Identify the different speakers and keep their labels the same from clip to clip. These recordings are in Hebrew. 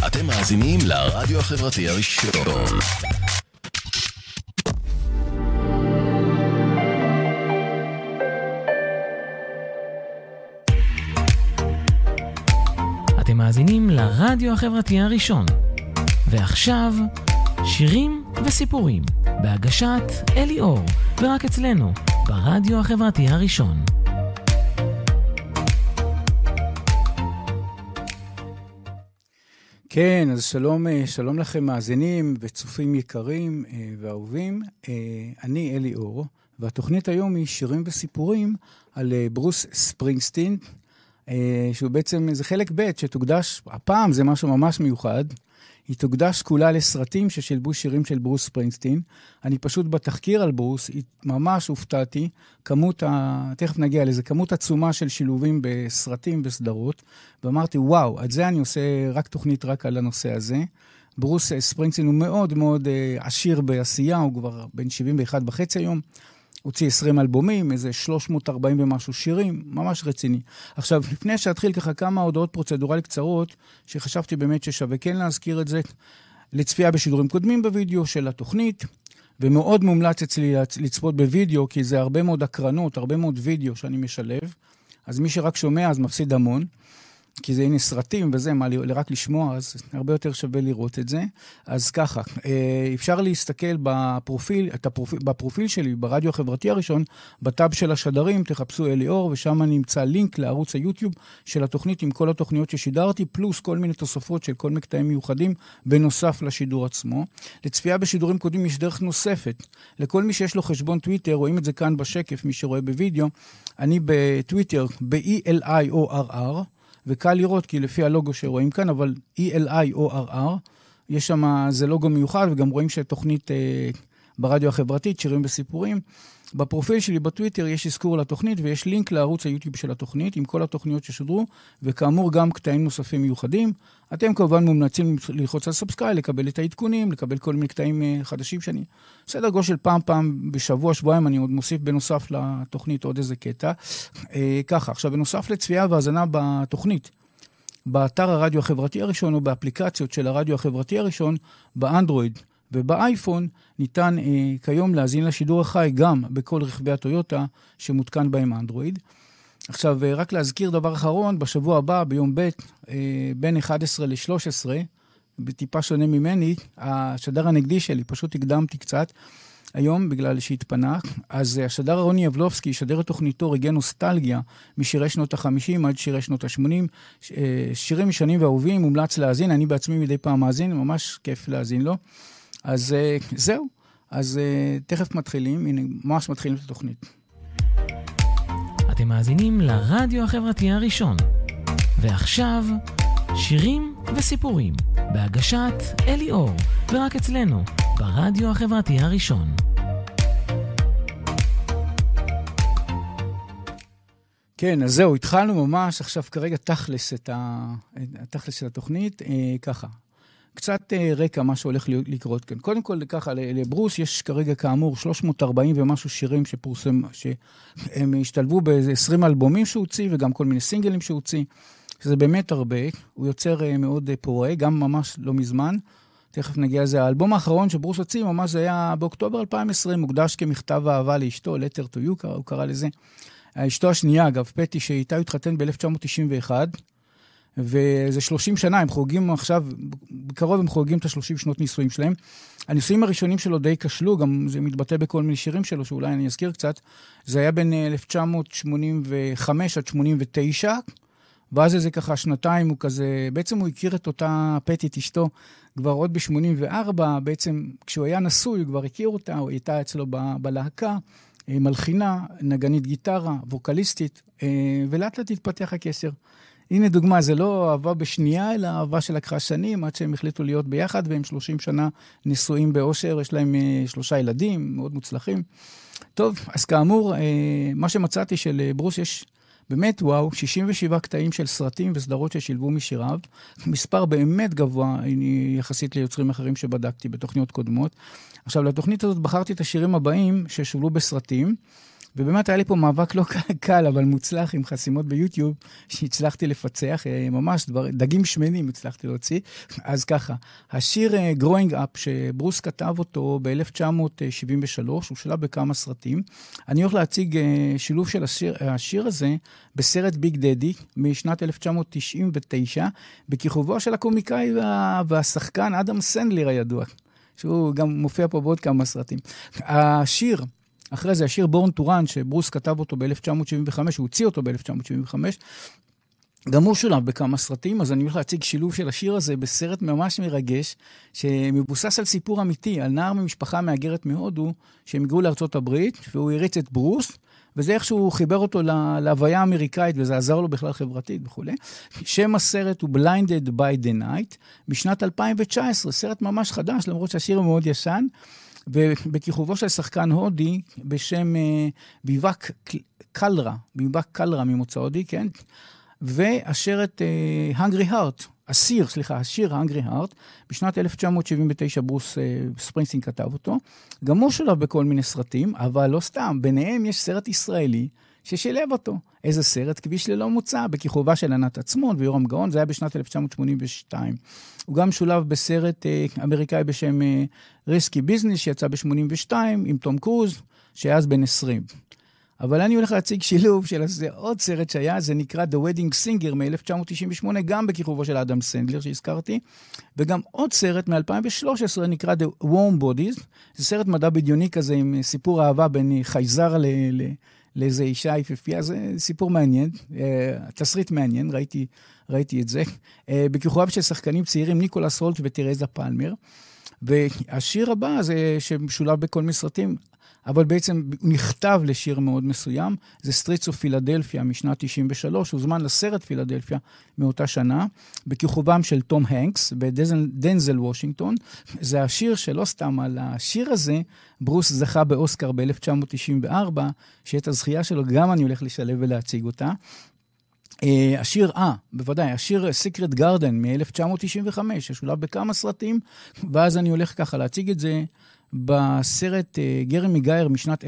Speaker 1: אתם מאזינים לרדיו החברתי הראשון.
Speaker 2: אתם מאזינים לרדיו החברתי הראשון. ועכשיו, שירים וסיפורים, בהגשת אלי אור, ורק אצלנו, ברדיו החברתי הראשון.
Speaker 3: כן, אז שלום לכם מאזינים וצופים יקרים ואהובים. אני אלי אור, והתוכנית היום היא שירים וסיפורים על ברוס ספרינגסטין, שהוא בעצם איזה חלק ב' שתוקדש, הפעם זה משהו ממש מיוחד, היא תוקדש כולה לסרטים ששילבו שירים של ברוס ספרינגסטין. אני פשוט בתחקיר על ברוס, ממש הופתעתי, תכף נגיע לזה, כמות עצומה של שילובים בסרטים וסדרות, ואמרתי, וואו, עד זה אני עושה רק תוכנית רק על הנושא הזה. ברוס ספרינגסטין הוא מאוד מאוד עשיר בעשייה, הוא כבר בן 71 וחצי היום, הוציא 20 אלבומים, איזה 340 ומשהו שירים, ממש רציני. עכשיו, לפני שאתחיל ככה כמה הודעות פרוצדורליות קצרות, שחשבתי באמת ששווה כן להזכיר את זה, לצפייה בשידורים קודמים בווידאו של התוכנית, ומאוד מומלץ אצלי לצפות בווידאו, כי זה הרבה מאוד הקרנות, הרבה מאוד וידאו שאני משלב, אז מי שרק שומע אז מפסיד המון, כי זה הנה סרטים וזה, מה רק לשמוע, אז הרבה יותר שווה לראות את זה. אז ככה, אפשר להסתכל בפרופיל שלי, ברדיו החברתי הראשון, בטאב של השדרים, תחפשו אלי אור, ושם נמצא לינק לערוץ היוטיוב של התוכנית עם כל התוכניות ששידרתי, פלוס כל מיני תוספות של כל מקטעים מיוחדים, בנוסף לשידור עצמו. לצפייה בשידורים קודמים יש דרך נוספת. לכל מי שיש לו חשבון טוויטר, רואים את זה כאן בשקף, מי שרואה בווידאו, אני בטוויטר, ב-ELIORR, וקל לראות, כי לפי הלוגו שרואים כאן, אבל ELIORR, יש שם, זה לוגו מיוחד, וגם רואים שתוכנית ברדיו החברתית, שירים וסיפורים. בפרופיל שלי בטוויטר יש אזכור לתוכנית, ויש לינק לערוץ היוטיוב של התוכנית, עם כל התוכניות ששודרו, וכאמור גם קטעים נוספים מיוחדים. אתם כמובן מומלצים ללחוץ על סאבסקרייב, לקבל את העדכונים, לקבל כל מיני קטעים חדשים שאני... בסדר גודל של פעם בשבוע, שבועיים, אני עוד מוסיף בנוסף לתוכנית עוד איזה קטע. ככה, עכשיו בנוסף לצפייה והזנה בתוכנית, באתר הרדיו החברתי הראשון, או באפליקציות של הרדיו החברתי הראשון, באנדרואיד ובאייפון, ניתן כיום להזין לשידור החי גם בכל רכבי הטויוטה שמותקן בהם אנדרואיד. עכשיו, רק להזכיר דבר אחרון, בשבוע הבא, ביום ב', בין 11 ל-13, בטיפה שונה ממני, השדר הנגדי שלי, פשוט הקדמתי קצת, היום בגלל שהתפנה, אז השדר רוני יבלובסקי ישדר את תוכניתו רגעי נוסטלגיה, משירי שנות ה-50 עד שירי שנות ה-80, שירים משנים ואהובים, מומלץ להאזין, אני בעצמי מדי פעם מאזין, ממש כיף להאזין לו. אז זהו, אז תכף מתחילים, הנה, ממש מתחילים את התוכנית.
Speaker 2: אתם מאזינים לרדיו החברתי הראשון. ועכשיו, שירים וסיפורים, בהגשת אלי אור, ורק אצלנו, ברדיו החברתי הראשון.
Speaker 3: כן, אז זהו, התחלנו ממש, עכשיו כרגע תכלס של התוכנית, ככה. קצת רקע מה שהולך לקרות כאן. קודם כל, ככה, לברוס יש כרגע כאמור 340 ומשהו שירים שפורסם, שהם השתלבו ב-20 אלבומים שהוציא, וגם כל מיני סינגלים שהוציא, שזה באמת הרבה. הוא יוצר מאוד פורה, גם ממש לא מזמן. תכף נגיע לזה. האלבום האחרון שברוס הוציא, ממש זה היה באוקטובר 2020, מוקדש כמכתב אהבה לאשתו, letter to you, הוא קרא לזה. אשתו השנייה, אגב, פטי, שאיתה התחתן ב-1991, וזה 30 שנה, הם חוגגים עכשיו, בקרוב הם חוגגים את ה-30 שנות נישואים שלהם. הנישואים הראשונים שלו די כשלו, גם זה מתבטא בכל מיני שירים שלו, שאולי אני אזכיר קצת. זה היה בין 1985 עד 89, ואז זה ככה שנתיים, הוא כזה, בעצם הוא הכיר את אותה פטית אשתו, כבר עוד ב-84, בעצם כשהוא היה נשוי, הוא כבר הכיר אותה, הוא הייתה אצלו בלהקה, מלחינה, נגנית גיטרה, ווקליסטית, ולאט לאט התפתח הקשר. הנה דוגמה, זה לא אהבה בשנייה, אלא אהבה שלקחה שנים, עד שהם החליטו להיות ביחד, והם 30 שנה נשואים באושר, יש להם 3 ילדים, מאוד מוצלחים. טוב, אז כאמור, מה שמצאתי של ברוס יש באמת, וואו, 67 קטעים של סרטים וסדרות ששילבו משיריו, מספר באמת גבוה, יחסית ליוצרים אחרים שבדקתי בתוכניות קודמות. עכשיו, לתוכנית הזאת בחרתי את השירים הבאים ששולבו בסרטים, ובאמת היה לי פה מאבק לא קל, אבל מוצלח עם חסימות ביוטיוב, שהצלחתי לפצח, ממש דגים שמנים הצלחתי להוציא. אז ככה, השיר Growing Up, שברוס כתב אותו ב-1973, הוא שלב בכמה סרטים. אני הולך להציג שילוב של השיר הזה בסרט ביג דדי, משנת 1999, בכיכובו של הקומיקאי והשחקן אדם סנדלר הידוע, שהוא גם מופיע פה בעוד כמה סרטים. השיר, אחרי זה, השיר בורן טו רן, שברוס כתב אותו ב-1975, הוא הוציא אותו ב-1975, גם הוא שולב בכמה סרטים, אז אני הולך להציג שילוב של השיר הזה בסרט ממש מרגש, שמבוסס על סיפור אמיתי, על נער ממשפחה מאגרת מהודו, שהם הגרו לארצות הברית, והוא הריץ את ברוס, וזה איך שהוא חיבר אותו להוויה האמריקאית, וזה עזר לו בכלל חברתית וכו'. שם הסרט הוא Blinded by the Night, משנת 2019, סרט ממש חדש, למרות שהשיר הוא מאוד ישן, ובכיכובו של שחקן הודי, בשם ביבק קלרה ממוצא הודי, כן? והשרת Hungry Heart, השיר Hungry Heart, בשנת 1979 ברוס ספרינגסטין כתב אותו, גם הוא שולב בכל מיני סרטים, אבל לא סתם, ביניהם יש סרט ישראלי ששילב אותו. איזה סרט? כביש ללא מוצא, בכיכובה של ענת עצמון ויורם גאון, זה היה בשנת 1982. הוא גם שולב בסרט אמריקאי בשם ריסקי ביזנס, שיצא ב-82, עם תום קרוז, שהיה אז בן 20. אבל אני הולך להציג שילוב של עוד סרט שהיה, זה נקרא The Wedding Singer מ-1998, גם בכיכובו של אדם סנדלר שהזכרתי, וגם עוד סרט מ-2013 נקרא The Warm Bodies, זה סרט מדע בדיוני כזה עם סיפור אהבה בין חייזר לאיזו אישה יפהפייה, זה סיפור מעניין, תסריט מעניין, ראיתי את זה, בכיכובם של שחקנים צעירים ניקולס הולט וטרזה פלמר, והשיר הבא זה שמשולב בכל מסרטים, אבל בעצם הוא נכתב לשיר מאוד מסוים, זה Streets of Philadelphia משנת 93, הוא זמן לסרט פילדלפיה מאותה שנה, בכיכובם של תום הנקס ודנזל וושינגטון, זה השיר שלא סתם על השיר הזה, ברוס זכה באוסקר ב-1994, שאת הזכייה שלו גם אני הולך לשלב ולהציג אותה, השיר, בוודאי, השיר Secret Garden מ-1995, ששולב בכמה סרטים, ואז אני הולך ככה להציג את זה, בסרט גרמי גייר משנת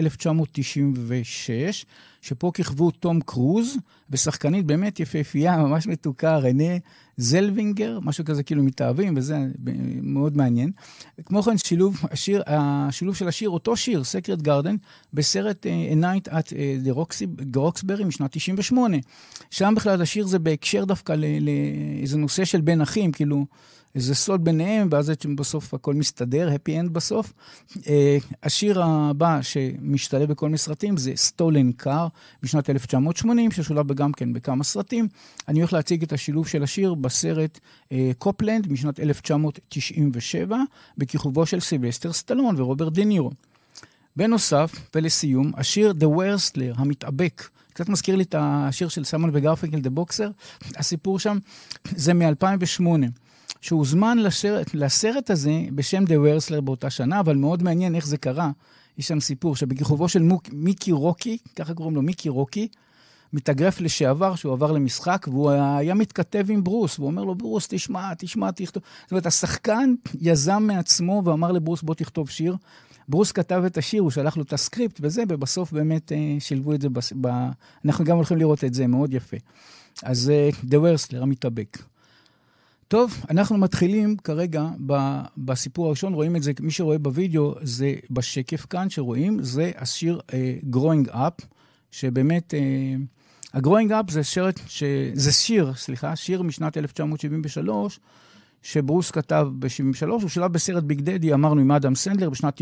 Speaker 3: 1996, שפה כיכבו תום קרוז, ושחקנית באמת יפהפייה, ממש מתוקה, רנה זלווינגר, משהו כזה כאילו מתאהבים, וזה מאוד מעניין. כמו כן, השילוב של השיר, אותו שיר, Secret Garden, בסרט A Night at the Roxbury משנת 98. שם בכלל השיר זה בהקשר דווקא לאיזה נושא של בין אחים, כאילו, איזה סוד ביניהם, ואז בסוף הכל מסתדר, happy end בסוף. השיר הבא שמשתלב בכל מסרטים זה Stolen Car בשנת 1980, ששולב גם כן בכמה סרטים. אני הולך להציג את השילוב של השיר בסרט קופלנד משנת 1997, בכיכובו של סילבסטר סטלון ורוברט דה נירו. בנוסף, ולסיום, השיר The Wrestler, המתאבק, קצת מזכיר לי את השיר של סיימון וגרפינקל דה בוקסר, הסיפור שם זה מ-2008. שהוזמן לסרט הזה בשם The Wrestler באותה שנה, אבל מאוד מעניין איך זה קרה. יש שם סיפור שבכיכובו של מיקי רוקי, ככה קוראים לו מיקי רוקי, מתאגרף לשעבר, שהוא עבר למשחק, והוא היה מתכתב עם ברוס, והוא אומר לו, ברוס, תשמע, תכתוב. זאת אומרת, השחקן יזם מעצמו ואמר לברוס, בוא תכתוב שיר. ברוס כתב את השיר, הוא שלח לו את הסקריפט וזה, ובסוף באמת שילבו את זה, אנחנו גם הולכים לראות את זה, מאוד יפה. אז The Wrestler, המתאבק. טוב, אנחנו מתחילים כרגע בסיפור הראשון, רואים את זה, מי שרואה בווידאו, זה בשקף כאן שרואים, זה השיר Growing Up, שבאמת, ה-Growing Up זה שיר משנת 1973, שברוס כתב ב-73, הוא שלב בסרט ביג דדי, אמרנו עם אדם סנדלר, בשנת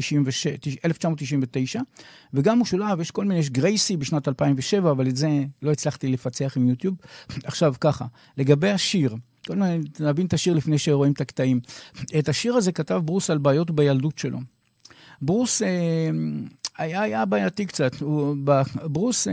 Speaker 3: 1999, וגם הוא שולב, יש כל מיני, יש גרייסי בשנת 2007, אבל את זה לא הצלחתי לפצח עם יוטיוב. עכשיו ככה, לגבי השיר, כל מיני, נבין את השיר לפני שרואים את הקטעים. את השיר הזה כתב ברוס על בעיות בילדות שלו. ברוס היה בעייתי קצת. ברוס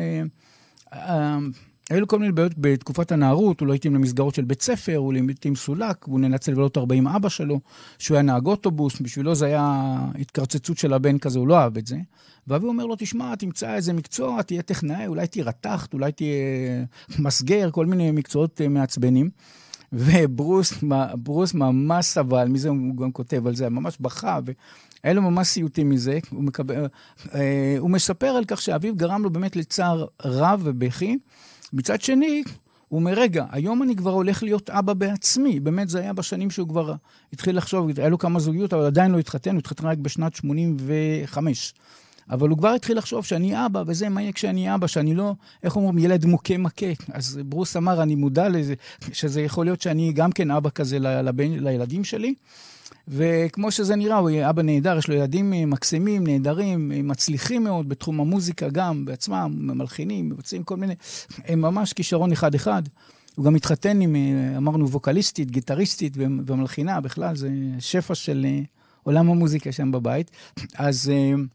Speaker 3: היו לו כל מיני בעיות בתקופת הנערות, הוא לא התאים למסגרות של בית ספר, הוא לעיתים סולק, הוא ננצל לבלות הרבה עם אבא שלו, שהוא היה נהג אוטובוס, בשבילו זה היה התקרצצות של הבן כזה, הוא לא אהב את זה. ואבי אומר לו, תשמע, תמצא איזה מקצוע, תהיה טכנאי, אולי תהיה רתחת, אולי תהיה מסגר, כל מיני מקצועות מעצבנים. וברוס ממש סבל, מזה הוא גם כותב על זה, ממש בכה, היה לו ממש סיוטים מזה, הוא מספר על כך שאביו גרם לו באמת לצער רב ובכי, מצד שני, הוא אומר, רגע, היום אני כבר הולך להיות אבא בעצמי, באמת זה היה בשנים שהוא כבר התחיל לחשוב, היה לו כמה זוגיות, אבל עדיין לא התחתן, הוא התחתן רק בשנת 85, אבל הוא כבר התחיל לחשוב שאני אבא, וזה מה יהיה כשאני אבא, שאני לא, איך אומרים, ילד מוכה. אז ברוס אמר, אני מודע לזה, שזה יכול להיות שאני גם כן אבא כזה לילדים שלי, וכמו שזה נראה, הוא יהיה אבא נהדר, יש לו ילדים מקסימים, נהדרים, מצליחים מאוד בתחום המוזיקה גם, בעצמם, מלחינים, מבצעים כל מיני, הם ממש כישרון אחד. הוא גם מתחתן עם, אמרנו, ווקליסטית, גיטריסטית ומלחינה, בכלל, זה שפע של עולם המוזיקה שם בבית. אז,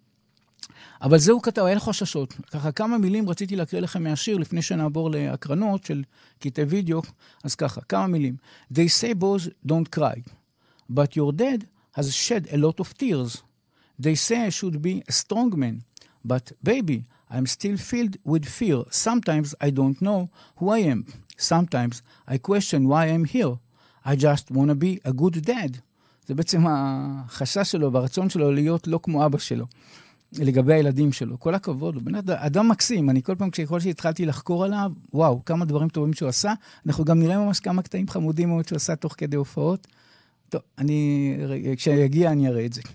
Speaker 3: אבל זהו כתב, היה לו חששות. ככה כמה מילים רציתי להקריא לכם מהשיר, לפני שנעבור להקרנות של קטעי וידאו, אז ככה, כמה מילים. They say boys don't cry. But your dad has shed a lot of tears. They say I should be a strong man. But baby, I'm still filled with fear. Sometimes I don't know who I am. Sometimes I question why I'm here. I just want to be a good dad. זה בעצם החשש שלו והרצון שלו להיות לא כמו אבא שלו. לגבי הילדים שלו. כל הכבוד, הוא באמת אדם מקסים. אני כל פעם שהתחלתי לחקור עליו, וואו, כמה דברים טובים שהוא עשה. אנחנו גם נראה ממש כמה קטעים חמודים מאוד שהוא עשה תוך כדי הופעות. טוב, כשיגיע אני אראה את זה.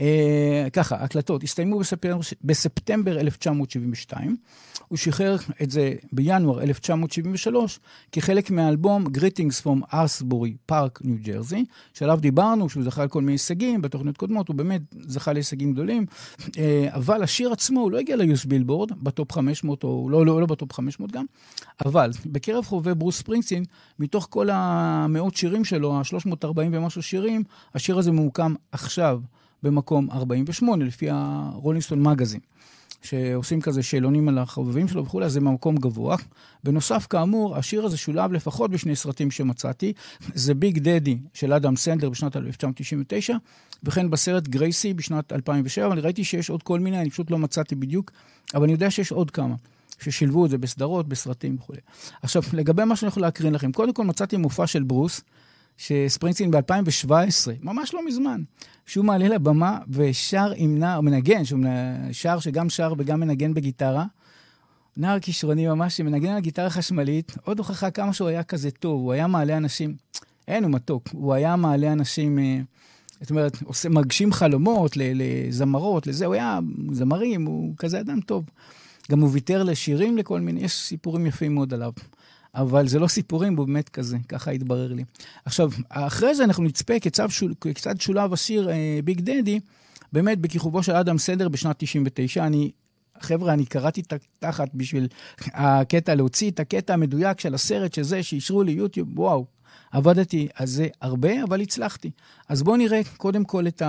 Speaker 3: ככה, הקלטות הסתיימו בספטמבר 1972, הוא שחרר את זה בינואר 1973, כחלק מהאלבום Greetings from Arsbury Park, ניו ג'רזי, שעליו דיברנו, שהוא זכה על כל מיני הישגים, בתוכניות קודמות, הוא באמת זכה להישגים גדולים, אבל השיר עצמו, הוא לא הגיע ליוס בילבורד, בטופ 500, או לא בטופ 500 גם, אבל בקרב חובבי ברוס ספרינגסטין, מתוך כל המאות שירים שלו, ה-340 ומשהו שירים, השיר הזה ממוקם עכשיו, במקום 48, לפי הרולינג סטון מגזין, שעושים כזה שאלונים על החובבים שלו וכו', אז זה במקום גבוה. בנוסף, כאמור, השיר הזה שולב לפחות בשני סרטים שמצאתי, זה ביג דדי של אדם סנדלר בשנת 1999, וכן בסרט גרייסי בשנת 2007, אבל ראיתי שיש עוד כל מיני, אני פשוט לא מצאתי בדיוק, אבל אני יודע שיש עוד כמה, ששילבו את זה בסדרות, בסרטים וכו'. עכשיו, לגבי מה שאני יכול להקרין לכם, קודם כל מצאתי מופע של ברוס, שספרינגסטין ב-2017, ממש לא מזמן, שהוא מעלה לבמה ושר עם נער, מנגן, שהוא שר שגם שר וגם מנגן בגיטרה, נער כישרוני ממש, שמנגן על גיטרה חשמלית, עוד הוכחה כמה שהוא היה כזה טוב, הוא היה מעלה אנשים, אין הוא מתוק, הוא היה מעלה אנשים, זאת אומרת, מגשים חלומות לזמרות, לזה, הוא היה זמרים, הוא כזה אדם טוב, גם הוא ויתר לשירים לכל מיני, יש סיפורים יפים מאוד עליו. אבל זה לא סיפורים, הוא באמת כזה, ככה התברר לי. עכשיו, אחרי זה אנחנו נצפה כיצד שולב השיר ביג דדי, באמת בכיכובו של אדם סנדלר בשנת 99. חבר'ה, אני קראתי תחת בשביל הקטע, להוציא את הקטע המדויק של הסרט שזה, שישרו לי יוטיוב, וואו, עבדתי על זה הרבה, אבל הצלחתי. אז בואו נראה קודם כל את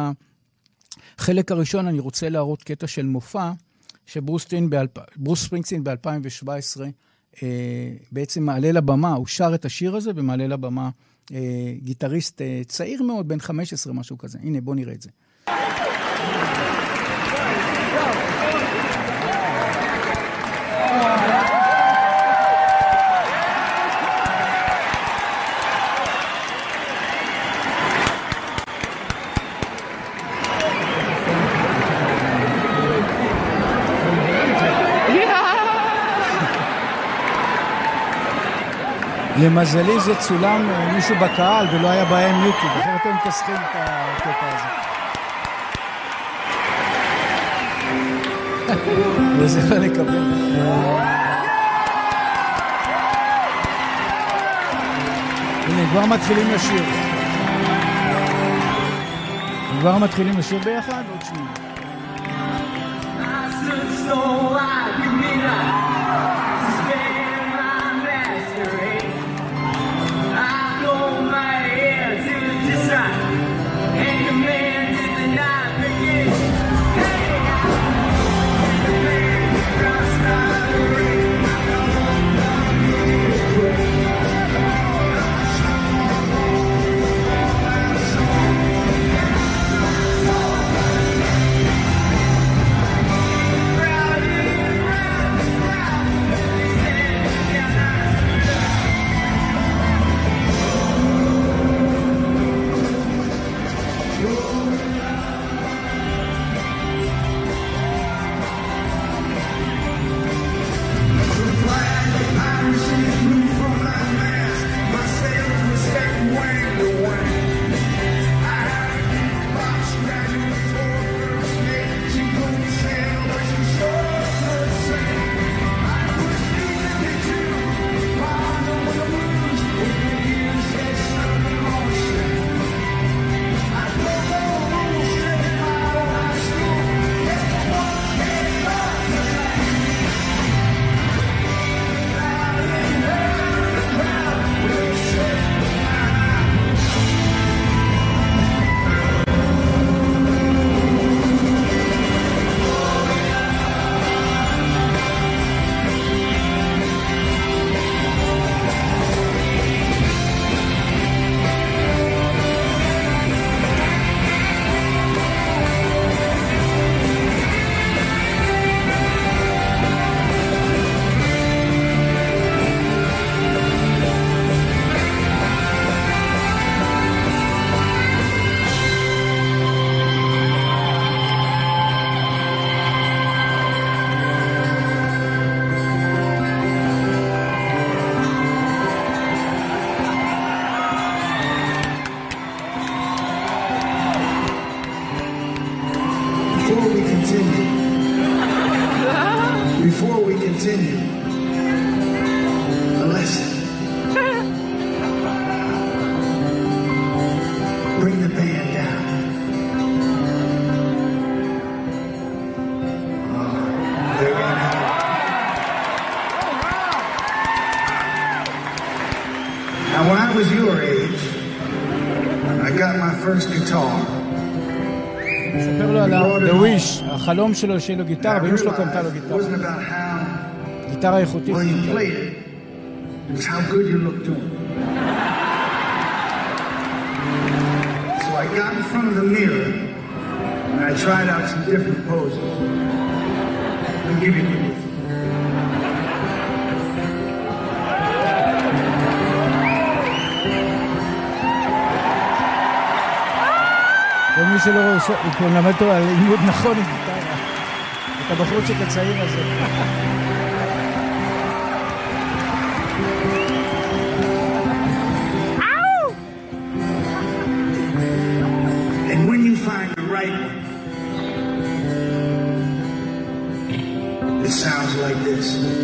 Speaker 3: החלק הראשון, אני רוצה להראות קטע של מופע, שברוס ספרינגסטין ב-2017, בעצם מעלה לבמה, הוא שר את השיר הזה ומעלה לבמה גיטריסט צעיר מאוד, בן 15 משהו כזה. הנה, בוא נראה את זה. למזלי זה צולם מישהו בקהל ולא היה בהם יוטיוב, אחרת הם תסכים את הקטע הזה. וזה לא לקבל. הנה, כבר מתחילים לשיר. ביחד, עוד שנייה.
Speaker 4: continue a lesson. Bring the band down. There we go. Now, when I was your age, I got my first guitar.
Speaker 3: ספר לו על The Wish, החלום שלו שיהיה לו גיטרה, ואמא שלו קנתה לו גיטרה. גיטרה איכותית.
Speaker 4: Well, you played it. It was how good you looked to him. So I got in front of the mirror and I tried out some different poses. I'll give you this.
Speaker 3: ומי שלא רואה, הוא כבר למד אותו על לימוד נכון עם גיטרה. את הבחורצ'יק הצעיר הזה.
Speaker 4: And when you find the right one, it sounds like this.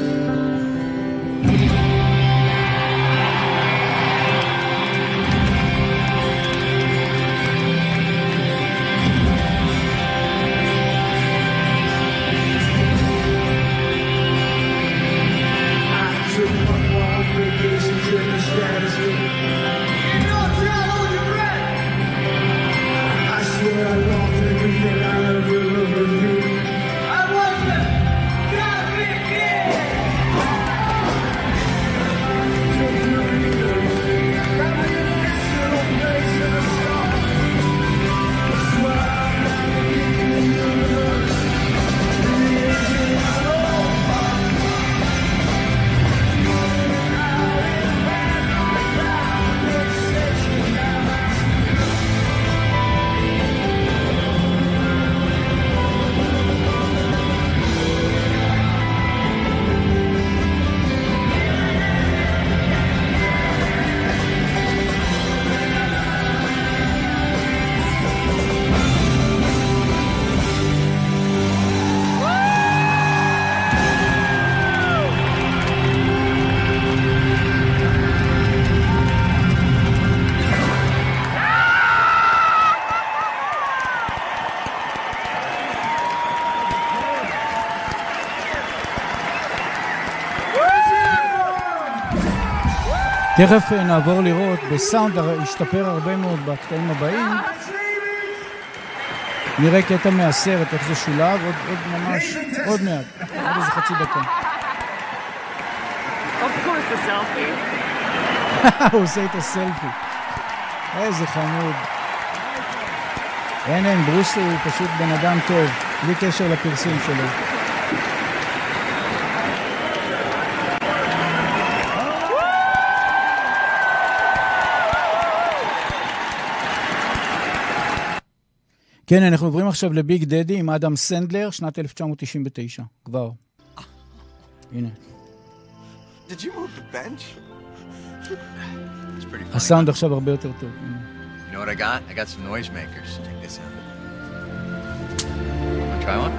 Speaker 3: תכף נעבור לראות, בסאונד השתפר הרבה מאוד בקטעים הבאים. נראה קטע מהסרט, איך זה שולב, עוד ממש, עוד מעט, עוד איזה חצי דקה.
Speaker 5: Of course the selfie.
Speaker 3: הוא עושה את הסלפי. איזה חמוד. אין, ברוס הוא פשוט בן אדם טוב, בלי קשר לפרסום שלו. כן, אנחנו עוברים עכשיו לביג דדי עם אדם סנדלר, שנת 1999, כבר. הנה.
Speaker 6: Did you move the bench? It's pretty funny.
Speaker 3: הסאונד עכשיו הרבה יותר טוב.
Speaker 6: You know what I got? I got some noisemakers. Check this out. Wanna try one?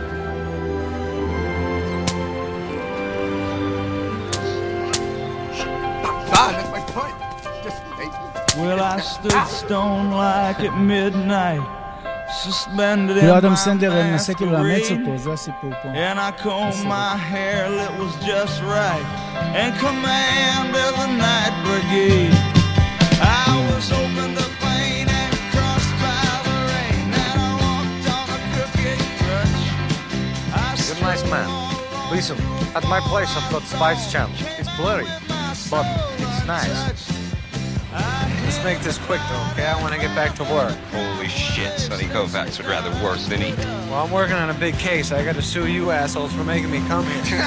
Speaker 6: Ah, that's my point. Just, hey.
Speaker 7: Well, I stood stone like at midnight.
Speaker 3: כאילו אדם סנדלר מנסה כאילו לאמץ אותו, זה הסיפור פה.
Speaker 7: And I combed my hair, it was just right, and commanded the night brigade. I was open to pain and crossed by the rain, and I walked on a crooked crutch.
Speaker 8: You're a nice man. Listen, at my place I've got Spice Channel. It's blurry, but it's nice. Let's make this quick though, okay? I want to get back to work.
Speaker 9: Holy shit, Sonny Kovacs would rather work than eat.
Speaker 8: Well, I'm working on a big case. I got to sue you assholes for making me come here.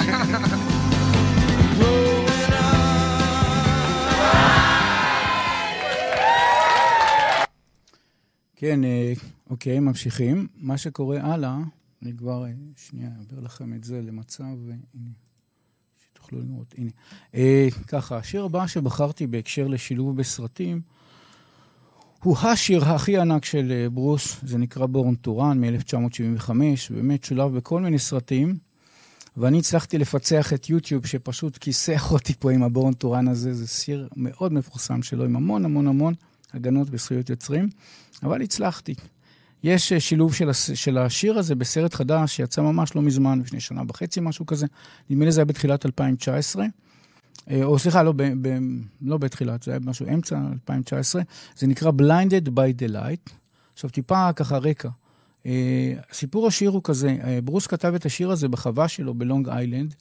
Speaker 3: כן, אוקיי, ממשיכים. מה שקורה הלאה, אני כבר, שנייה, אעביר לכם את זה למצב, הנה, שתוכלו לראות, הנה. ככה, השיר הבא שבחרתי בהקשר לשילוב בסרטים, הוא השיר הכי ענק של ברוס, זה נקרא בורן טורן מ-1975, באמת שולב בכל מיני סרטים. ואני הצלחתי לפצח את יוטיוב, שפשוט כיסח אותי פה עם הבורן טורן הזה, זה שיר מאוד מפורסם שלו, עם המון המון המון הגנות בזכויות יוצרים, אבל הצלחתי. יש שילוב של השיר הזה בסרט חדש, שיצא ממש לא מזמן, לפני שנה וחצי, משהו כזה, נדמה לי זה היה בתחילת 2019, או סליחה, לא בתחילת, זה היה משהו אמצע 2019, זה נקרא Blinded by the Light. עכשיו טיפה ככה רקע. סיפור השיר הוא כזה, ברוס כתב את השיר הזה בחווה שלו בלונג איילנד,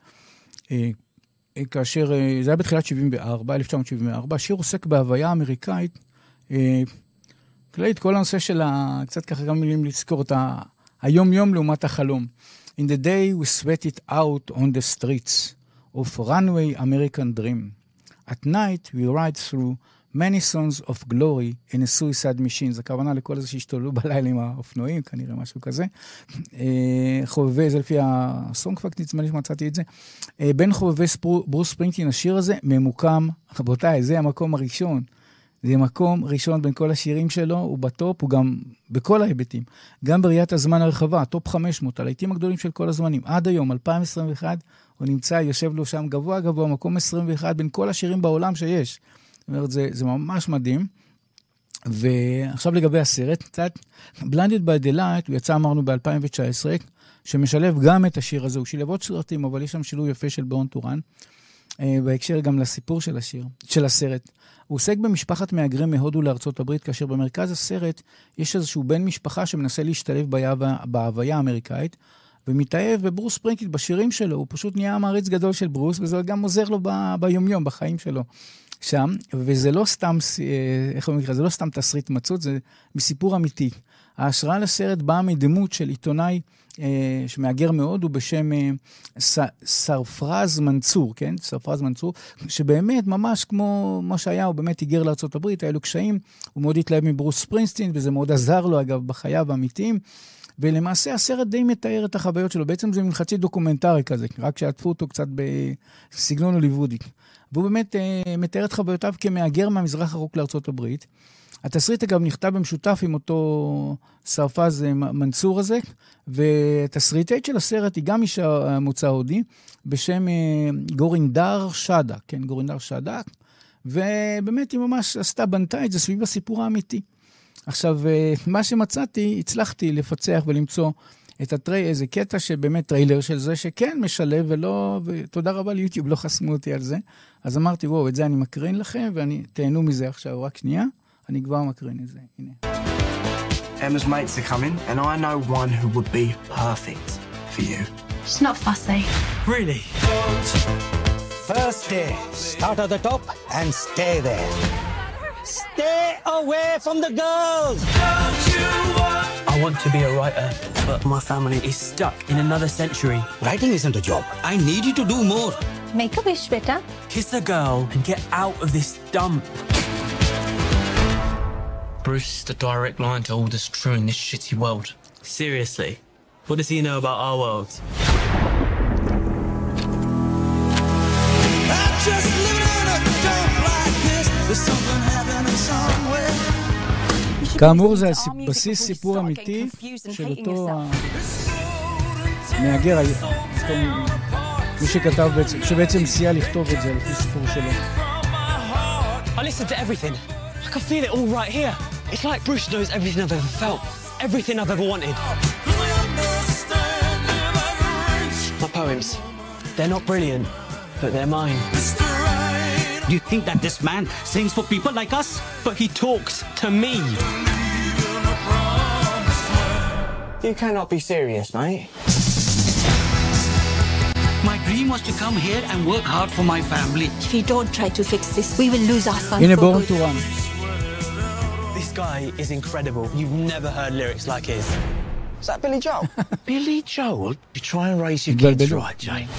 Speaker 3: כאשר זה היה בתחילת 1974, השיר עוסק בהוויה אמריקאית, כללית כל הנושא של קצת ככה גם מילים לזכור את היום-יום לעומת החלום. In the day we sweat it out on the streets of runway American dream. At night we ride through many sons of glory in a suicide machine. זה הכוונה לכל זה שהשתוללו בלילה עם האופנועים, כנראה משהו כזה. חובבי, זה לפי הסונג פאקט, נצמה לי שמצאתי את זה. בין חובבי ברוס ספרינגסטין, השיר הזה ממוקם, רבותיי, זה המקום הראשון. זה מקום ראשון בין כל השירים שלו, הוא בטופ, הוא גם בכל ההיבטים. גם בראיית הזמן הרחבה, טופ 500, הלהיטים הגדולים של כל הזמנים. עד היום, 2021, הוא נמצא, יושב לו שם גבוה גבוה, מקום 21 בין כל השירים בעולם שיש. זאת אומרת, זה ממש מדהים. ועכשיו לגבי הסרט, קצת, Blinded by the Light, הוא יצא, אמרנו, ב-2019, שמשלב גם את השיר הזה, הוא שילב עוד סרטים, אבל יש שם שילוב יפה של בורן טורן, בהקשר גם לסיפור של הסרט. הוא עוסק במשפחת מהגרים מהודו לארצות הברית, כאשר במרכז הסרט יש איזשהו בן משפחה שמנסה להשתלב בהוויה האמריקאית, ומתאהב בברוס ספרינגסטין בשירים שלו, הוא פשוט נהיה מעריץ גדול של ברוס, וזה גם עוזר לו ביומיום, בחיים שלו שם, וזה לא סתם, איך הוא נקרא, זה לא סתם תסריט מצות, זה מסיפור אמיתי. ההשראה לסרט באה מדמות של עיתונאי שמאגר מאוד, הוא בשם סרפרז מנצור, כן? סרפרז מנצור, שבאמת ממש כמו מה שהיה, הוא באמת היגר לארצות הברית, היה לו קשיים, הוא מאוד התלהב מברוס ספרינגסטין, וזה מאוד עזר לו אגב בחייו האמיתיים, ולמעשה הסרט די מתאר את החוויות שלו, בעצם זה חצי דוקומנטרי כזה, רק שעטפו אותו קצת בסגנון הוליוודי. והוא באמת מתאר את חוויותיו כמאגר מהמזרח הרחוק לארצות הברית. התסריט אגב נכתב במשותף עם אותו סרפז מנצור הזה, ותסריטית של הסרט היא גם אישה מוצא הודי, בשם גורינדר שדה, כן, גורינדר שדה, ובאמת היא ממש בנתה את זה סביב הסיפור האמיתי. עכשיו, מה שמצאתי, הצלחתי לפצח ולמצוא את איזה קטע שבאמת טריילר של זה, שכן משלב ותודה רבה ליוטיוב, לא חסמו אותי על זה. אז אמרתי, וואו, את זה אני מקרין לכם, תהנו מזה עכשיו, רק שנייה. אני כבר מקרין את זה, הנה.
Speaker 5: Emma's mates are coming, and I know one who would be perfect for you.
Speaker 10: She's not fussy.
Speaker 5: Really?
Speaker 11: First day, start at the top and stay there. Stay away from the girls!
Speaker 5: Don't you want... I want to be a writer, but my family is stuck in another century.
Speaker 11: Writing isn't a job. I need you to do more.
Speaker 10: Make a wish, beta.
Speaker 5: Kiss a girl and get out of this dump.
Speaker 12: Bruce is the direct line to all that's true in this shitty world.
Speaker 5: Seriously? What does he know about our world? I'm just living in a dump like this. There's something happening somewhere.
Speaker 3: כאמור, זה בסיס סיפור אמיתי של אותו מהגר, מי שכתב בעצם, שבעצם סייע לכתוב את זה לפי סיפור שלו.
Speaker 5: I listened to everything. I can feel it all right here. It's like Bruce knows everything I've ever felt. Everything I've ever wanted. My poems, they're not brilliant, but they're mine.
Speaker 11: Do you think that this man sings for people like us?
Speaker 5: But he talks to me. You cannot be serious, mate.
Speaker 11: My dream was to come here and work hard for my family.
Speaker 10: If you don't try to fix this, we will lose our son
Speaker 3: הנה
Speaker 10: for
Speaker 3: בורן
Speaker 10: good.
Speaker 3: טורן.
Speaker 5: This guy is incredible. You've never heard lyrics like his. Is that Billy Joel?
Speaker 11: Billy Joel? You try and raise your kids right, Jane.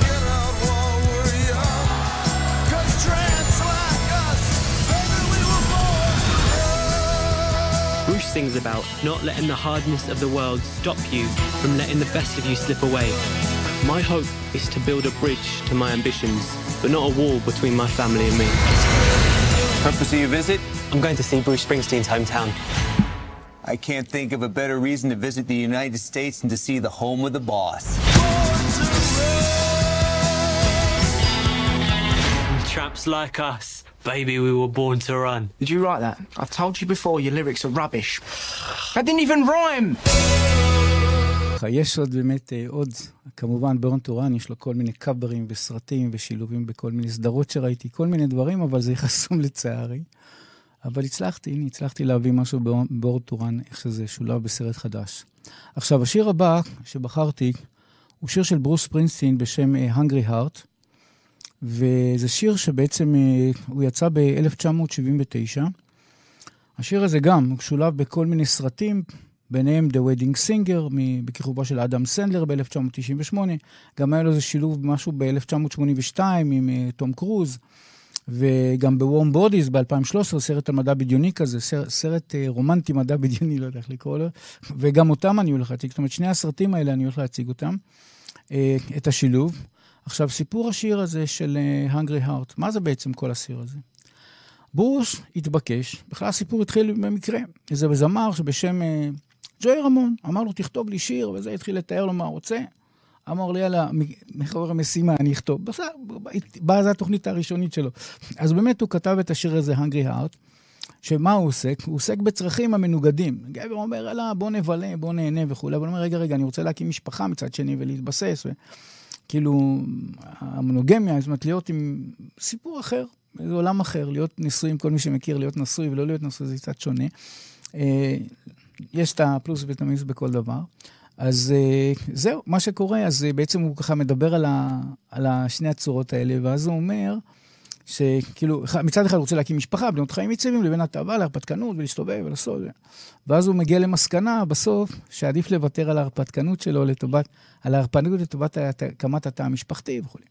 Speaker 5: Bruce sings about not letting the hardness of the world stop you from letting the best of you slip away. My hope is to build a bridge to my ambitions, but not a wall between my family and me.
Speaker 13: Purpose of your visit?
Speaker 5: I'm going to see Bruce Springsteen's hometown.
Speaker 13: I can't think of a better reason to visit the United States than to see the home of the boss.
Speaker 5: tramps like us. Baby, we were born to run.
Speaker 12: Did you write that? I've told you before, your lyrics are rubbish. That didn't even rhyme!
Speaker 3: יש עוד באמת עוד, כמובן ברון טורן, יש לו כל מיני קאברים וסרטים ושילובים בכל מיני סדרות שראיתי, כל מיני דברים, אבל זה חסום לצערי. אבל הצלחתי להביא משהו ברון טורן, איך שזה שולב בסרט חדש. עכשיו, השיר הבא שבחרתי, הוא שיר של ברוס ספרינגסטין בשם Hungry Heart, וזה שיר שבעצם הוא יצא ב-1979. השיר הזה גם, הוא שולב בכל מיני סרטים, ביניהם The Wedding Singer, בכיכובו של אדם סנדלר ב-1998, גם היה לו איזה שילוב משהו ב-1982 עם תום קרוז, וגם ב-Warm Bodies ב-2013, סרט על מדע בדיוני כזה, סרט רומנטי מדע בדיוני, לא יודע איך לקרוא לו, וגם אותם אני הולך להציג, זאת אומרת, שני הסרטים האלה אני הולך להציג אותם, את השילוב. עכשיו, סיפור השיר הזה של Hungry Heart, מה זה בעצם כל השיר הזה? ברוס התבקש, בכלל הסיפור התחיל במקרה, איזה זמר שבשם ג'וי רמון, אמר לו תכתוב לי שיר, וזה התחיל לתאר לו מה רוצה, אמר לי יאללה, מחבר המשימה אני אכתוב, באה זו התוכנית הראשונית שלו, אז באמת הוא כתב את השיר הזה Hungry Heart, שמה הוא עוסק? הוא עוסק בצרכים המנוגדים, גבר אומר יאללה בוא נבלה, בוא נהנה וכו', אבל הוא אומר רגע אני רוצה להקים משפחה מצד שני ולהתבסס, כאילו המונוגמיה, זאת אומרת להיות עם סיפור אחר, זה עולם אחר, להיות נשוי עם כל מי שמכיר, להיות נשוי ולא להיות נשוי, זה קצת שונה. יש את הפלוס ואת בכל דבר. אז זהו, מה שקורה, אז בעצם הוא ככה מדבר על שני הצורות האלה, ואז הוא אומר, שכאילו, מצד אחד הוא רוצה להקים משפחה, בנות חיים יציבים, לבין התאווה, להרפתקנות, ולהסתובב ולעשות. ואז הוא מגיע למסקנה, בסוף, שעדיף לוותר על ההרפתקנות שלו, על ההרפתקנות לטובת הקמת התא המשפחתי וכו'.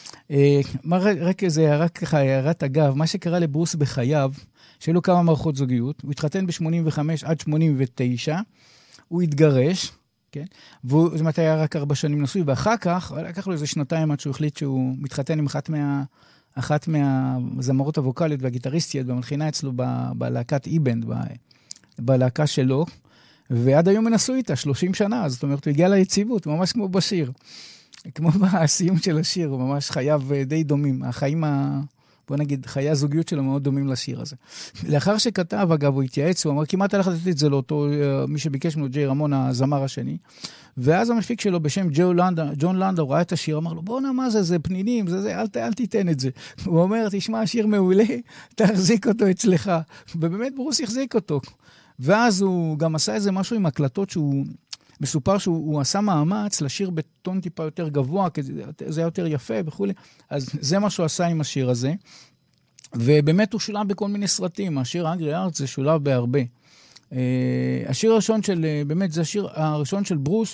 Speaker 3: רק ככה, הערת אגב, מה שקרה לברוס בחייו, שהיו לו כמה מערכות זוגיות, הוא התחתן ב-85 עד 89, הוא התגרש, כן? והוא, זאת אומרת, היה רק 4 שנים נשוי, ואחר כך, לקח לו איזה 2 עד שהוא החליט שהוא מתחתן עם אחת מהזמרות הווקליות והגיטריסטיות, במלחינה אצלו בלהקת איבנד, בלהקה שלו, ועד היום מנסו איתה 30 שנה, זאת אומרת, הוא הגיע ליציבות, ממש כמו בשיר. כמו בסיום של השיר, הוא ממש חייו די דומים. החיים, בוא נגיד, חיי הזוגיות שלו מאוד דומים לשיר הזה. לאחר שכתב, אגב, הוא התייעץ, הוא אמר, כמעט הלך לתת את זה לאותו, מי שביקש ממנו, ג'יי רמון, הזמר השני. ואז המפיק שלו, בשם ג'ון לנדאו, ראה את השיר, אמר לו, בוא נמה זה פנינים, אל תיתן את זה. הוא אומר, תשמע, השיר מעולה, תחזיק אותו אצלך. ובאמת ברוס יחזיק אותו. ואז הוא גם עשה איזה משהו עם הקלטות שהוא מסופר שהוא עשה מאמץ לשיר בטון טיפה יותר גבוה, כי זה היה יותר יפה וכו'. אז זה מה שהוא עשה עם השיר הזה. ובאמת הוא שולב בכל מיני סרטים. השיר Hungry Heart זה שולב בהרבה. השיר הראשון באמת זה השיר הראשון של ברוס,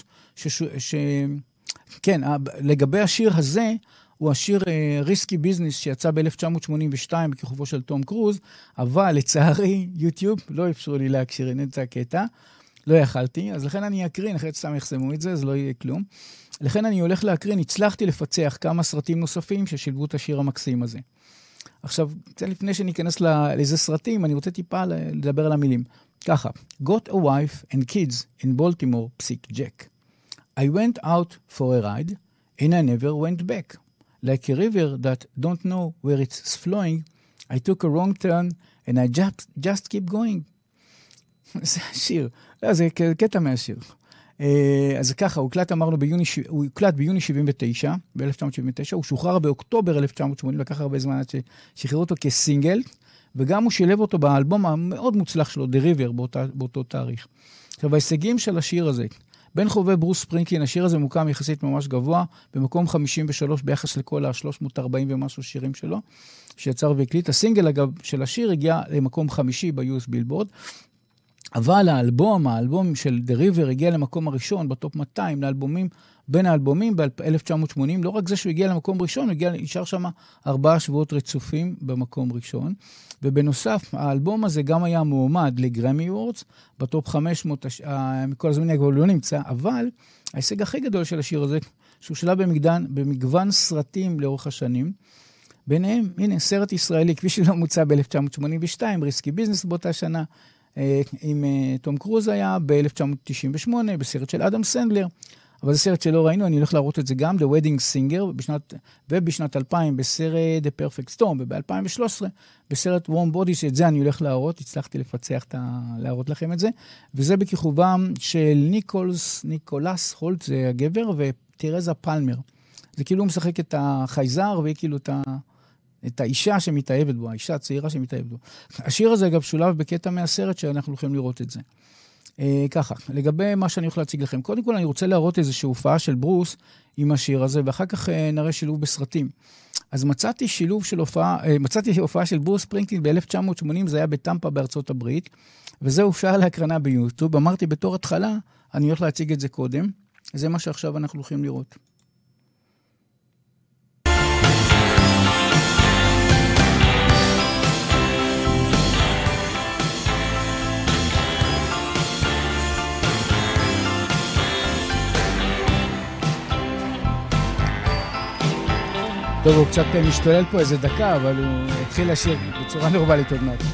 Speaker 3: כן, לגבי השיר הזה, הוא השיר ריסקי ביזנס שיצא ב-1982 בכיכובו של תום קרוז, אבל לצערי יוטיוב לא אפשרו לי להקשיר את הקטע, לא יכלתי, אז לכן אני אקרין, אחרי סתם יחסמו את זה, אז לא יהיה כלום. לכן אני הולך להקרין, הצלחתי לפצח כמה סרטים נוספים ששילבו את השיר המקסים הזה. עכשיו, קצת לפני שניכנס לאיזה סרטים, אני רוצה טיפה לדבר על המילים. ככה, got a wife and kids in Baltimore, psic Jack. I went out for a ride and I never went back. Like a river that don't know where it's flowing, I took a wrong turn and I just keep going. זה השיר. לא, זה קטע מהשיר. אז ככה, הוא הקלט ביוני 79, ב-1979, הוא שוחרר באוקטובר 1980, לקח הרבה זמן עד ששחררו אותו כסינגל, וגם הוא שילב אותו באלבום המאוד מוצלח שלו, The River, באותו תאריך. עכשיו, ההישגים של השיר הזה, בין חובבי ברוס ספרינגסטין, השיר הזה מוקם יחסית ממש גבוה, במקום 53 ביחס לכל ה-340 ומשהו שירים שלו, שיצר והקליט. הסינגל, אגב, של השיר הגיע למקום 5 ב-US בילבורד, אבל האלבום של The River הגיע למקום הראשון, בטופ 200, בין האלבומים ב-1980, לא רק זה שהוא הגיע למקום ראשון, הוא נשאר שם 4 שבועות רצופים במקום ראשון, ובנוסף, האלבום הזה גם היה מועמד לגרמי וורדס, בטופ 500, מכל הזמנים כבר לא נמצא, אבל ההישג הכי גדול של השיר הזה, שהוא שלה במגוון סרטים לאורך השנים, ביניהם, הנה, סרט ישראלי, כפי שלא מוצא ב-1982, ריסקי ביזנס באותה שנה, עם תום קרוז היה ב-1998, בסרט של אדם סנדלר, אבל זה סרט שלא ראינו, אני הולך להראות את זה גם, The Wedding Singer, ובשנת 2000 בסרט The Perfect Storm, וב-2013 בסרט Warm Bodies, שאת זה אני הולך להראות, הצלחתי לפצח להראות לכם את זה, וזה בכיכובם של ניקולס הולט, זה הגבר, וטרזה פלמר. זה כאילו הוא משחק את החייזר, והיא כאילו את האישה שמתאהבת בו, האישה הצעירה שמתאהבת בו. השיר הזה אגב שולב בקטע מהסרט שאנחנו יכולים לראות את זה. ככה, לגבי מה שאני יכול להציג לכם. קודם כל אני רוצה להראות איזושהי הופעה של ברוס עם השיר הזה, ואחר כך נראה שילוב בסרטים. אז מצאתי הופעה של ברוס ספרינגסטין ב-1980, זה היה בטמפה בארצות הברית, וזה הופעה להקרנה ביוטיוב. אמרתי בתור התחלה, אני הולך להציג את זה קודם. זה מה שעכשיו אנחנו הולכים לראות. טוב, הוא קצת משתולל פה איזה דקה, אבל הוא התחיל לשיר בצורה נורמלית עוד מעט.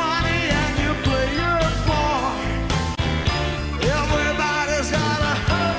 Speaker 14: Everybody's got a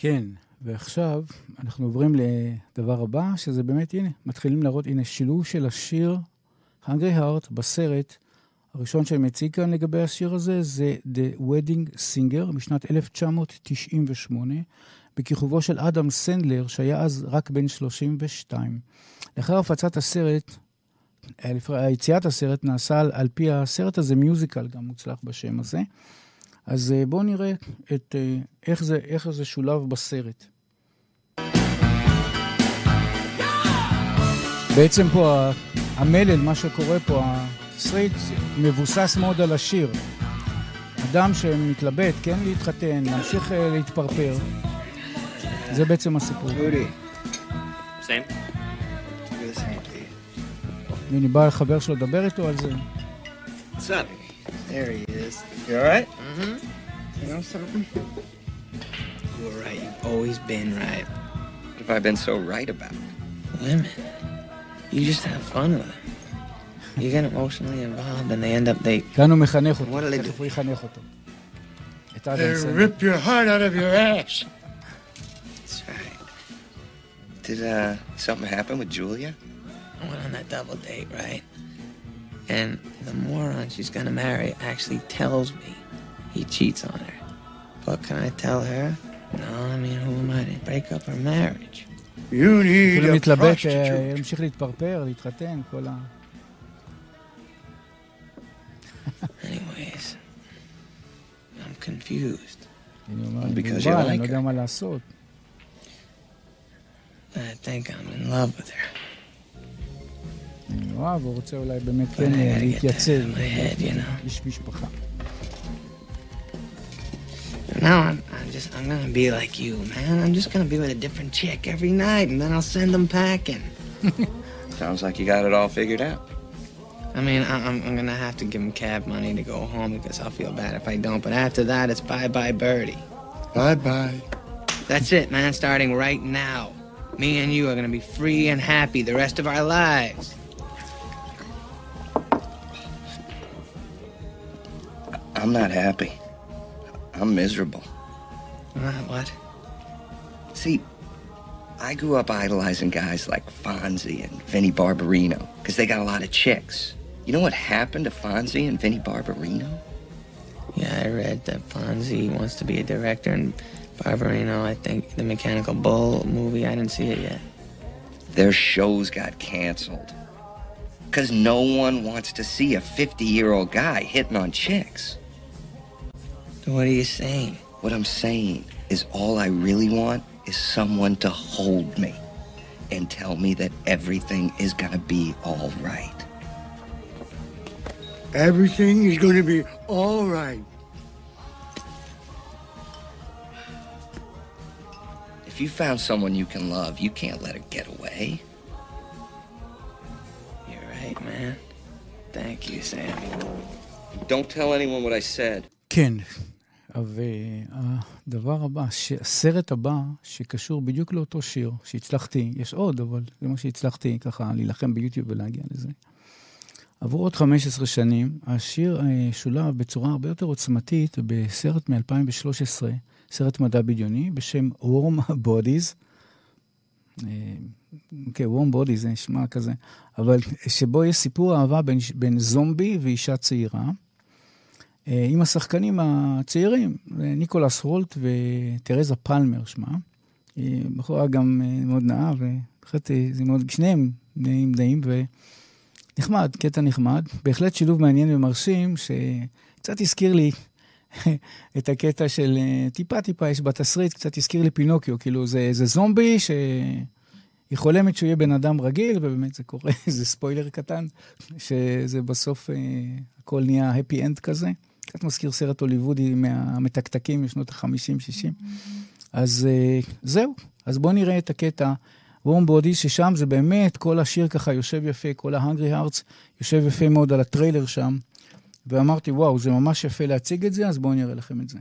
Speaker 3: כן, ועכשיו אנחנו עוברים לדבר הבא, שזה באמת, הנה, מתחילים להראות, הנה, שילוב של השיר Hungry Heart בסרט. הראשון שאני מציג כאן לגבי השיר הזה, זה The Wedding Singer, משנת 1998, בכיכובו של אדם סנדלר, שהיה אז רק בן 32. לאחר הפצת הסרט, היציאת הסרט נעשה על פי הסרט הזה מיוזיקל, גם מוצלח בשם הזה. אז בואו נראה איך זה שולב בסרט. בעצם פה המלל, מה שקורה פה, התסריט מבוסס מאוד על השיר. אדם שמתלבט, כן להתחתן, להמשיך להתפרפר. זה בעצם הסיפור.
Speaker 14: Same.
Speaker 3: הנה בא לחבר שלו לדבר איתו על זה.
Speaker 14: What's up? There he is. You all right? Mm-hmm. You know something? You were right. You've always been right.
Speaker 6: What have I been so right about?
Speaker 14: Women. You just have fun with them. You get emotionally involved and they end up they...
Speaker 3: כאן הוא מחנך אותו.
Speaker 14: What do they do?
Speaker 3: איך הוא יחנך אותו?
Speaker 15: They rip your heart out of your ass.
Speaker 14: That's right.
Speaker 6: Did something happen with Julia?
Speaker 14: I went on that double date, right? And the moron she's gonna marry actually tells me he cheats on her. But can I tell her? No, I mean, who am I to break up her marriage?
Speaker 15: You need a prostitute.
Speaker 3: ימשיך להתפרפר, להתחתן, כל ה...
Speaker 14: Anyways, I'm confused.
Speaker 6: Because you like her.
Speaker 3: אני לא יודע מה לעשות.
Speaker 14: I think I'm in love with her.
Speaker 3: אני אוהב, הוא רוצה אולי באמת כן להתייצב. איש משפחה.
Speaker 14: Now I'm gonna be like you, man. I'm just gonna be with a different chick every night, and then I'll send them packing.
Speaker 6: Sounds like you got it all figured out.
Speaker 14: I mean, I'm gonna have to give him cab money to go home because I'll feel bad if I don't. But after that, it's bye-bye Birdie.
Speaker 15: Bye-bye.
Speaker 14: That's it, man. Starting right now. Me and you are gonna be free and happy the rest of our lives.
Speaker 6: I'm not happy. I'm miserable.
Speaker 14: What?
Speaker 6: See, I grew up idolizing guys like Fonzie and Vinnie Barbarino because they got a lot of chicks. You know what happened to Fonzie and Vinnie Barbarino?
Speaker 14: Yeah, I read that Fonzie wants to be a director and Barbarino, I think, the Mechanical Bull movie. I didn't see it yet.
Speaker 6: Their shows got canceled because no one wants to see a 50-year-old guy hitting on chicks.
Speaker 14: What are you saying?
Speaker 6: What I'm saying is all I really want is someone to hold me and tell me that everything is gonna be all right.
Speaker 15: Everything is gonna be all right.
Speaker 6: If you found someone you can love, you can't let her get away.
Speaker 14: You're right, man. Thank you, Sam.
Speaker 6: Don't tell anyone what I said.
Speaker 3: כן. והדבר הבא, הסרט הבא שקשור בדיוק לאותו שיר, שהצלחתי, יש עוד, אבל זה מה שהצלחתי ככה להילחם ביוטיוב ולהגיע לזה. עבור עוד 15 שנים, השיר שולב בצורה הרבה יותר עוצמתית בסרט מ-2013, סרט מדע בדיוני, בשם Warm Bodies. אוקיי, Warm Bodies זה נשמע כזה, אבל שבו יש סיפור אהבה בין זומבי ואישה צעירה, עם השחקנים הצעירים, ניקולס הולט וטרזה פלמר שמה. בחורה גם מאוד נאה, ובהחלט זה מאוד, שניהם נעים דעים, ונחמד, קטע נחמד. בהחלט שילוב מעניין ומרשים, שקצת הזכיר לי את הקטע של טיפה, יש בתסריט, קצת הזכיר לי פינוקיו, כאילו זה זומבי שהיא חולמת שהוא יהיה בן אדם רגיל, ובאמת זה קורה, זה ספוילר קטן, שזה בסוף הכל נהיה happy end כזה. קצת מזכיר סרט הוליוודי מהמתקתקים משנות ה-50-60. אז זהו. אז בואו נראה את הקטע Warm Bodies, ששם זה באמת, כל השיר ככה יושב יפה, כל ה-Hungry Hearts יושב יפה מאוד על הטריילר שם. ואמרתי, וואו, זה ממש יפה להציג את זה, אז בואו נראה לכם את זה.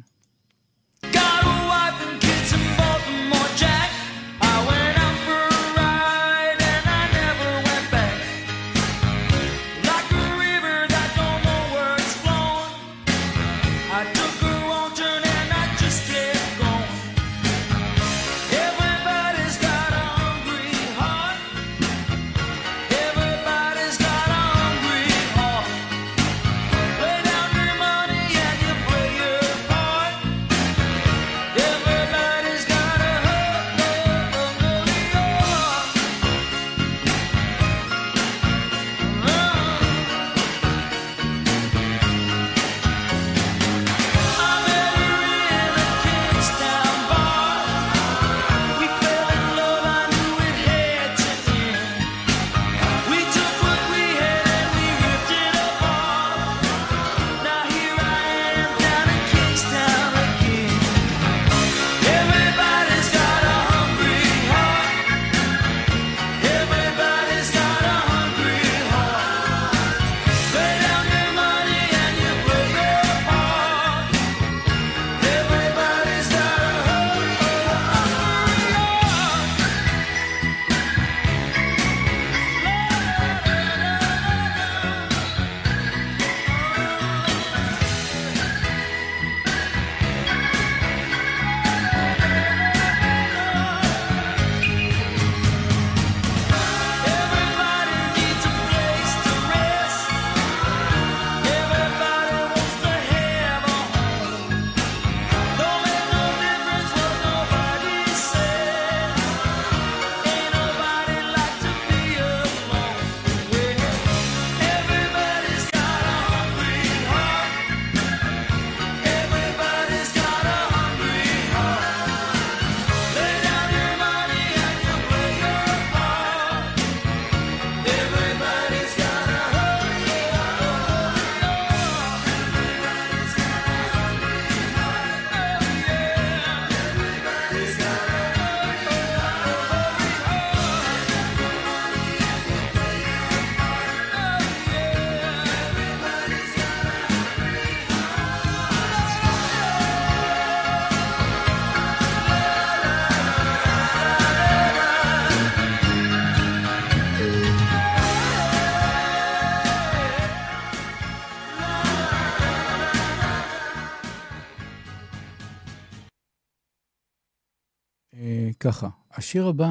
Speaker 3: ככה, השיר הבא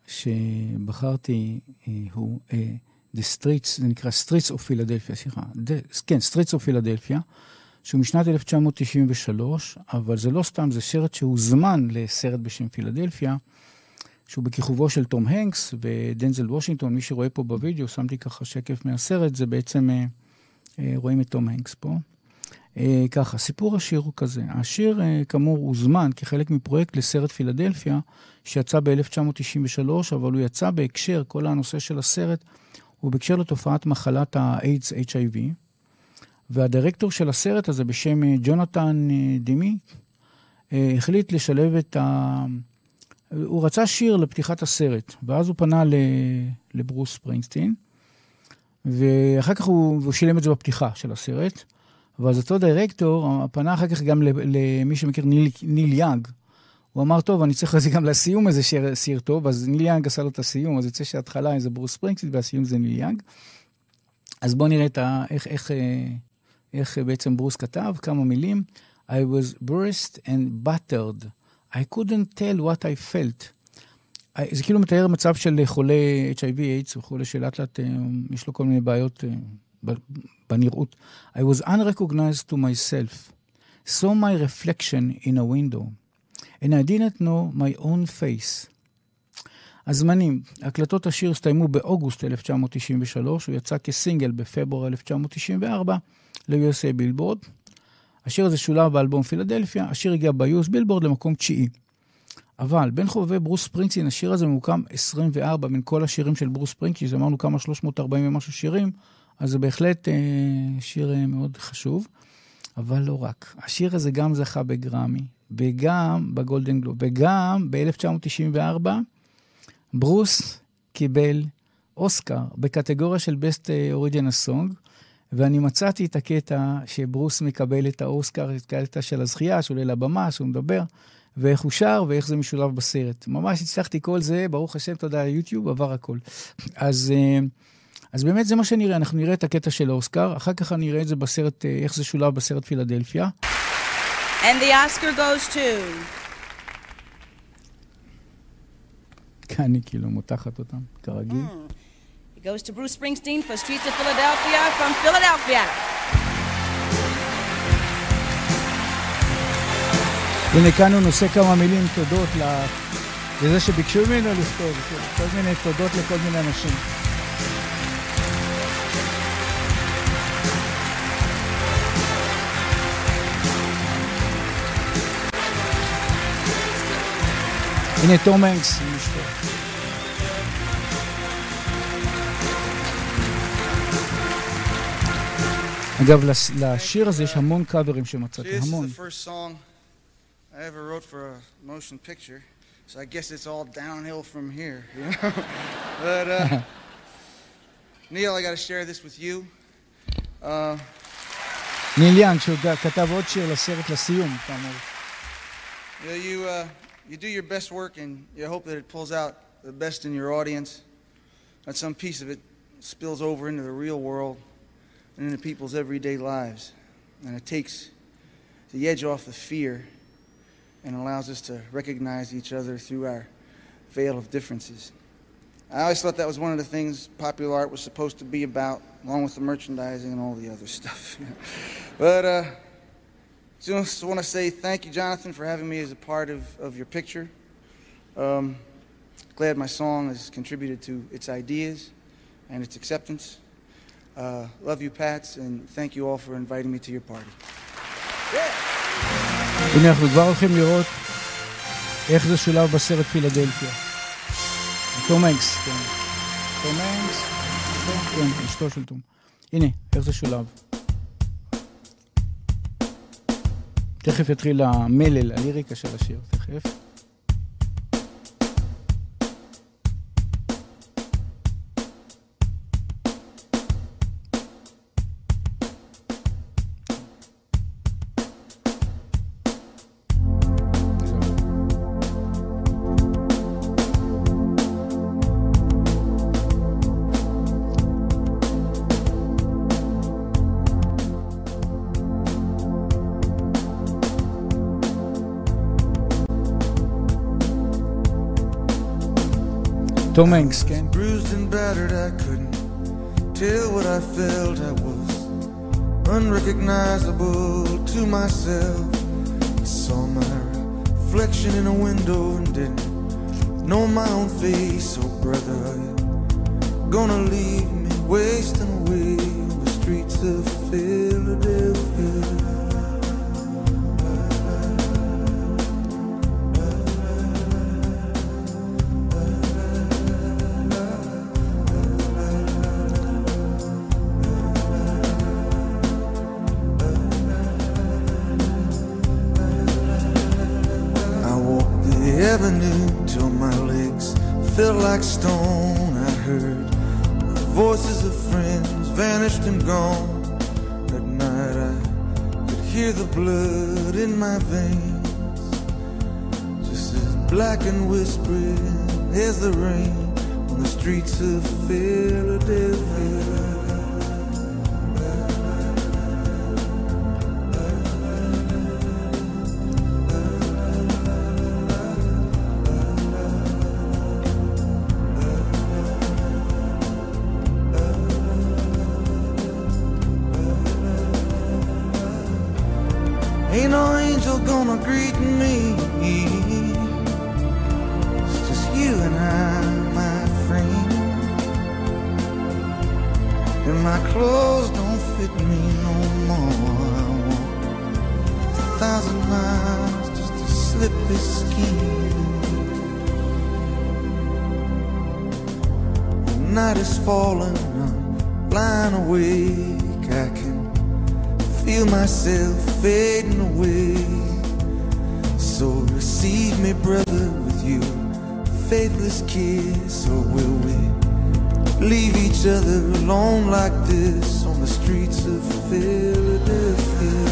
Speaker 3: שבחרתי הוא The Streets, זה נקרא Streets of Philadelphia, כן, Streets of Philadelphia, שהוא משנת 1993, אבל זה לא סתם, זה סרט שהוזמן לסרט בשם פילדלפיה, שהוא בכיכובו של תום הנקס ודנזל וושינגטון. מי שרואה פה בווידאו, שמתי ככה שקף מהסרט, זה בעצם, רואים את תום הנקס פה. ככה, סיפור השיר הוא כזה. השיר כאמור הוזמן כחלק מפרויקט לסרט פילדלפיה, שיצא ב-1993, אבל הוא יצא בהקשר, כל הנושא של הסרט, הוא בהקשר לתופעת מחלת האיידס, HIV, והדירקטור של הסרט הזה בשם ג'ונתן דימי, החליט לשלב הוא רצה שיר לפתיחת הסרט, ואז הוא פנה לברוס ספרינגסטין, ואחר כך הוא שילם את זה בפתיחה של הסרט, ואז אותו דירקטור פנה אחר כך גם למי שמכיר ניל יאנג, הוא אמר, טוב, אני צריך לזה גם לסיום איזה שיר טוב, אז ניל יאנג עשה לו את הסיום, אז יצא שההתחלה זה ברוס ספרינגסטין, והסיום זה ניל יאנג. אז בואו נראה איך בעצם ברוס כתב, כמה מילים. I was bruised and battered. I couldn't tell what I felt. זה כאילו מתאר מצב של חולה HIV/AIDS, וחולה שלאט לאט, יש לו כל מיני בעיות בנראות. I was unrecognized to myself. Saw my reflection in a window. And I didn't know my own face. הזמנים, הקלטות השיר הסתיימו באוגוסט 1993, הוא יצא כסינגל בפברואר 1994 ל-USA בילבורד. השיר הזה שולב באלבום פילדלפיה, השיר הגיע ב-US בילבורד למקום 9. אבל בין חובבי ברוס ספרינגסטין, השיר הזה ממוקם 24 בין כל השירים של ברוס ספרינגסטין, זה אמרנו כמה 340 ומשהו שירים, אז זה בהחלט שיר מאוד חשוב, אבל לא רק. השיר הזה גם זכה בגרמי, וגם בגולדן גלוב, וגם ב-1994, ברוס קיבל אוסקר בקטגוריה של Best Original Song, ואני מצאתי את הקטע שברוס מקבל את האוסקר, את הקטע של הזכייה, שעולה לבמה, שהוא מדבר, ואיך הוא שר, ואיך זה משולב בסרט. ממש הצלחתי כל זה, ברוך השם, תודה ליוטיוב, עבר הכל. אז באמת זה מה שנראה, אנחנו נראה את הקטע של האוסקר, אחר כך נראה את זה בסרט, איך זה שולב בסרט פילדלפיה.
Speaker 16: And the Oscar goes to...
Speaker 3: אני כאילו מותחת אותם, כרגיל.
Speaker 16: It goes to Bruce Springsteen for Streets of Philadelphia from Philadelphia.
Speaker 3: הנה כאן הוא נושא כמה מילים תודות לזה שביקשו ממנו לכתוב, כל מיני תודות לכל מיני אנשים. הנה תום הנקס עם אשתו. אגב, לשיר הזה יש המון קאברים שמצאתי, המון.
Speaker 17: This is the first song I ever wrote for a motion picture, so I guess it's all downhill from here, you know? But, Neil, I got to share this with you.
Speaker 3: ניל יאנג, שהוא כתב עוד שיר לסרט לסיום, אתה אומר.
Speaker 17: You do your best work and you hope that it pulls out the best in your audience, that some piece of it spills over into the real world and into people's everyday lives, and it takes the edge off the fear and allows us to recognize each other through our veil of differences. I always thought that was one of the things popular art was supposed to be about, along with the merchandising and all the other stuff. But just want to say thank you, Jonathan, for having me as a part of your picture. Glad my song has contributed to its ideas and its acceptance. Love you, Pats, and thank you all for inviting me to your party.
Speaker 3: הנה אנחנו כבר הולכים לראות איך זה שולב בסרט פילדלפיה. תום הנקס, כן. תום הנקס, כן, אשתו של תום. הנה, איך זה שולב. תכף יתחיל המלל, הליריקה של השיר, תכף. תום הנקס, כן?
Speaker 7: Bruised and battered, I couldn't tell what I felt. I was unrecognizable to myself. I saw my reflection in a window and didn't know my own face. Oh brother, are you gonna leave me wasting away on the streets of Philadelphia? Avenue till my legs felt like stone. I heard the voices of friends vanished and gone. At night I could hear the blood in my veins, just as black and whispering as the rain on the streets of Philadelphia. Ain't no angel gonna greet me. It's just you and I, my friend. And my clothes don't fit me no more. I walk 1,000 miles just to slip this skin. The night is falling, I'm lying awake. I can feel myself fading away. So receive me, brother, with you faithless kiss. Or will we leave each other alone like this on the streets of Philadelphia?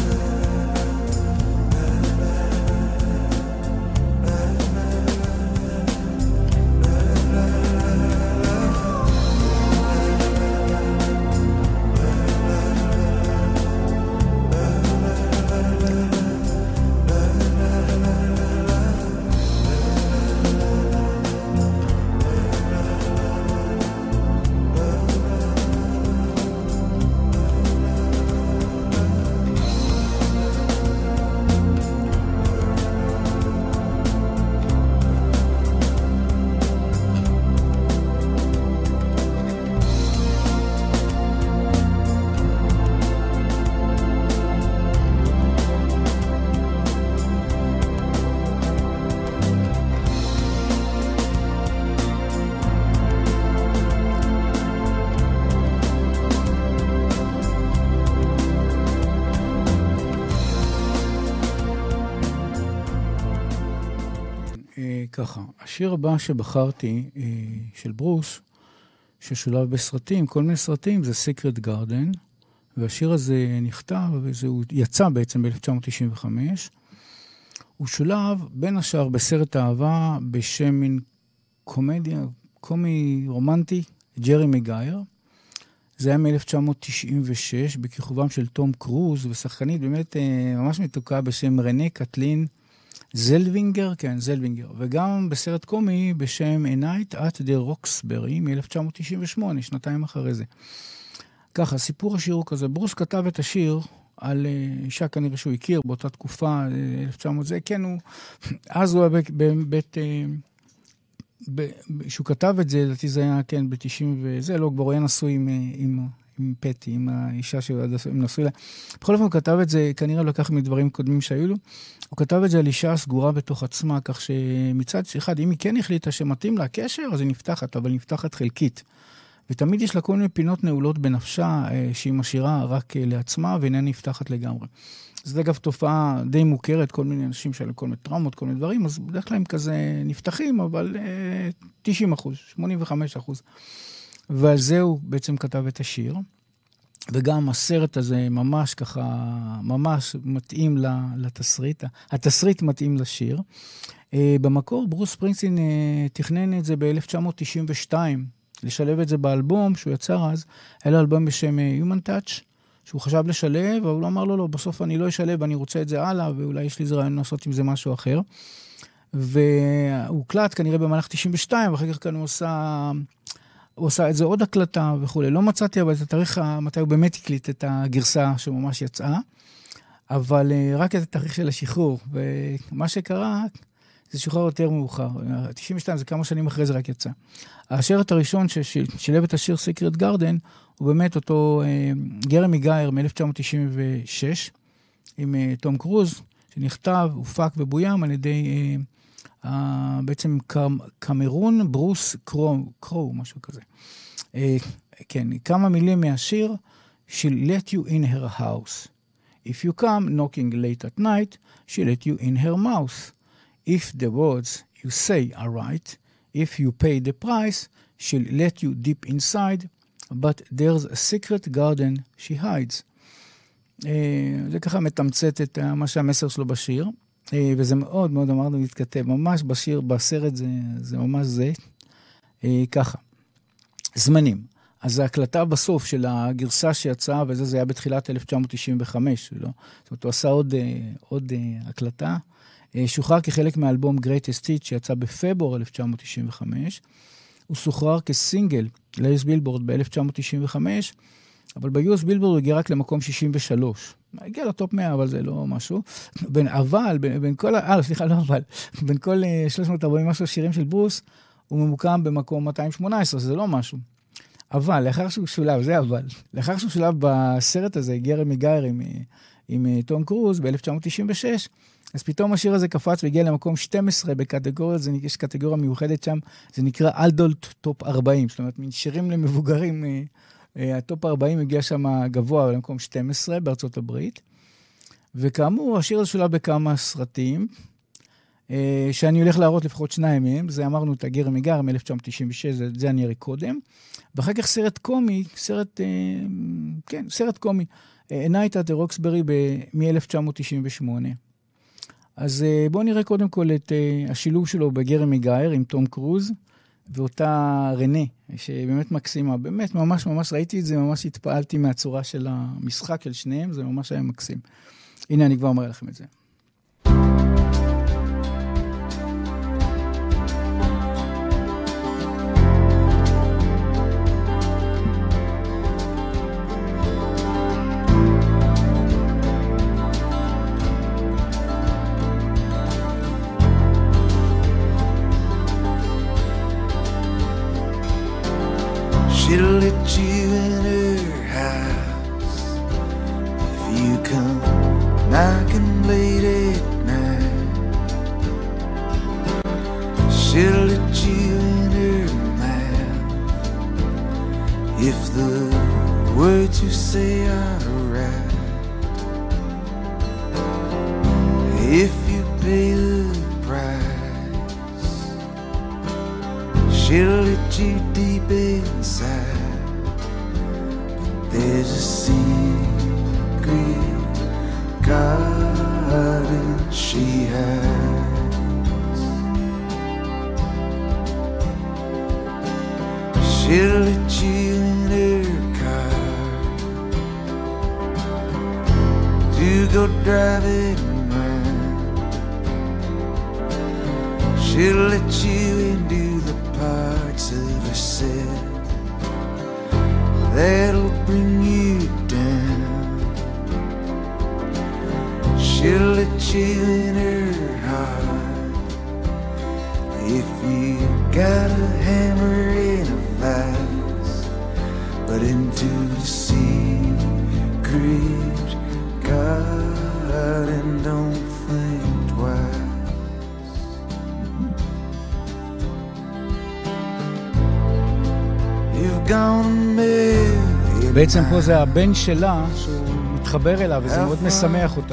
Speaker 3: ככה, השיר הבא שבחרתי של ברוס, ששולב בסרטים, כל מיני סרטים, זה Secret Garden, והשיר הזה נכתב, הוא יצא בעצם ב-1995, הוא שולב בין השאר בסרט אהבה בשם מין קומדיה, קומי רומנטי, ג'רי מגייר, זה היה מ-1996, בכיכובם של תום קרוז, ושחקנית באמת ממש מתוקה בשם רנה קטלין זלווינגר, כן, זלווינגר, וגם בסרט קומי בשם A Night at the Roxbury מ-1998, שנתיים אחרי זה. ככה, סיפור השיר הוא כזה, ברוס כתב את השיר על אישה כנראה שהוא הכיר באותה תקופה, 1900 זה, כן, אז הוא היה שהוא כתב את זה, לדעתי זה היה, כן, ב-90 וזה, לא, כבר הוא היה נשוי עם פטי, עם האישה שהם נשוי לה. בכל אופן הוא כתב את זה, כנראה לקח מדברים קודמים שהיו לו, הוא כתב את זה על אישה סגורה בתוך עצמה, כך שמצד אחד, אם היא כן החליטה שמתאים לה קשר, אז היא נפתחת, אבל היא נפתחת חלקית. ותמיד יש לה כל מיני פינות נעולות בנפשה, שהיא משאירה רק לעצמה, ואיננה נפתחת לגמרי. זה אגב תופעה די מוכרת, כל מיני אנשים שעלו כל מיני טראומות, כל מיני דברים, אז בדרך כלל הם כזה נפתחים, אבל 90%, 85%. ועל זה הוא בעצם כתב את השיר. וגם הסרט הזה ממש ככה, ממש מתאים לתסריט. התסריט מתאים לשיר. במקור ברוס ספרינגסטין תכנן את זה ב-1992, לשלב את זה באלבום שהוא יצר אז, היה לו אלבום בשם Human Touch, שהוא חשב לשלב, אבל הוא אמר לו, בסוף אני לא אשלב, אני רוצה את זה הלאה, ואולי יש לי איזה רעיון לעשות עם זה משהו אחר. והוא קלט כנראה במהלך 92, ואחר כך כאן הוא עושה את זה עוד הקלטה וכו'. לא מצאתי אבל את התאריך מתי הוא באמת הקליט את הגרסה שממש יצאה, אבל רק את התאריך של השחרור, ומה שקרה זה שוחרר יותר מאוחר. 92 זה כמה שנים אחרי זה רק יצא. השרת הראשון ששילב את השיר Secret Garden, הוא באמת אותו גרמי גייר מ-1996, עם תום קרוז, שנכתב, הופק ובוים על ידי בעצם קמרון ברוס קרו, משהו כזה. כן, כמה מילים מהשיר, She'll let you in her house. If you come knocking late at night, she'll let you in her mouth. If the words you say are right, if you pay the price, she'll let you deep inside, but there's a secret garden she hides. זה ככה מתמצת את מה שהמסר שלו בשיר, וזה מאוד מאוד אמרנו להתכתב, ממש בשיר, בסרט זה ממש זה, ככה. זמנים. אז ההקלטה בסוף של הגרסה שיצאה, וזה היה בתחילת 1995, לא? זאת אומרת, הוא עשה עוד הקלטה, שוחרר כחלק מהאלבום Greatest Hits שיצא בפברואר 1995, הוא שוחרר כסינגל ל-US בילבורד ב-1995, אבל ב-US בילבורד הוא הגיע רק למקום 63. הגיע לטופ 100, אבל זה לא משהו. בין כל 340 משהו שירים של ברוס, הוא ממוקם במקום 218, זה לא משהו. אבל, לאחר שהוא שולב בסרט הזה, גרמי גייר עם תום קרוז ב-1996, אז פתאום השיר הזה קפץ והגיע למקום 12 בקטגוריות, יש קטגוריה מיוחדת שם, זה נקרא אלדולט טופ 40, זאת אומרת, מין שירים למבוגרים, הטופ 40 הגיע שם גבוה למקום 12 בארצות הברית, וכאמור, השיר הזה שולב בכמה סרטים, שאני הולך להראות לפחות שניים מהם, זה אמרנו את הגרמי גייר מ-1996, זה אני אראה קודם, ואחר כך סרט קומי, סרט קומי, Night at the Roxbury מ-1998. אז בואו נראה קודם כל את השילוב שלו בגרמי גייר עם תום קרוז, ואותה רנה, שבאמת מקסימה, באמת ממש ממש ראיתי את זה, ממש התפעלתי מהצורה של המשחק של שניהם, זה ממש היה מקסים. הנה אני כבר אומר לכם את זה.
Speaker 7: She'll let you in her house if you come knocking late at night. She'll let you in her mouth if the words you say are right. If you pay the price, she'll let you deep inside, but there's a secret garden she hides. She'll let you in her car to go driving around. She'll let you into the parts of herself that'll bring you down. She'll let you in her heart if you got a hammer in a vise, but into the secret garden, don't think twice.
Speaker 3: בעצם פה זה הבן שלה שהוא מתחבר אליו וזה מאוד משמח אותה.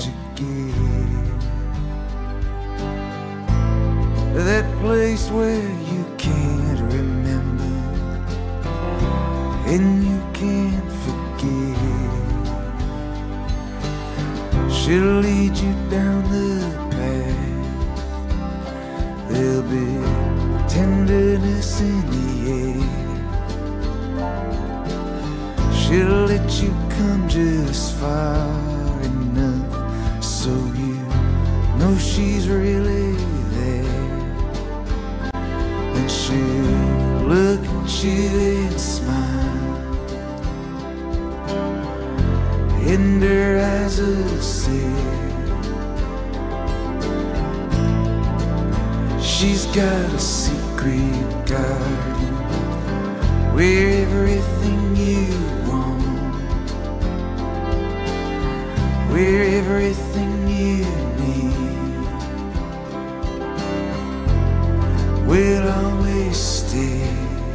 Speaker 7: That place where you can't remember and you can't forget. She'll lead you down the path. There'll be tenderness in the air. She'll let you come just far enough so you know she's really there.
Speaker 18: and she'll look at you and smile. In her eyes a sea, she's got a secret garden where everything you want, where everything you need will always stay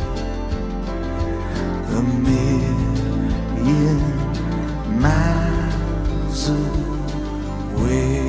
Speaker 18: a million miles away.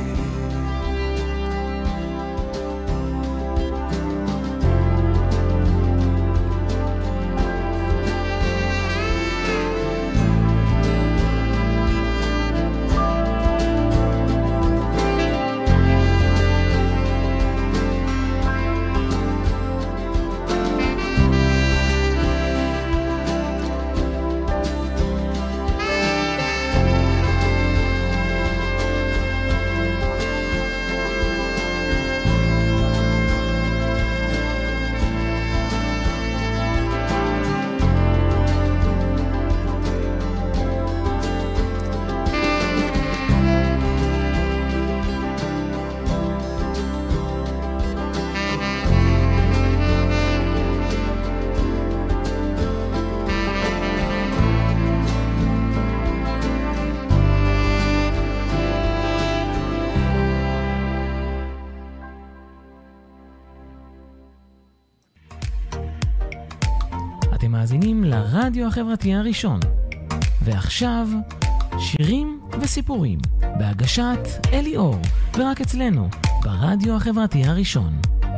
Speaker 2: אתם מאזינים לרדיו החברתי הראשון. ועכשיו, שירים וסיפורים, בהגשת אלי אור, ורק אצלנו, ברדיו החברתי הראשון.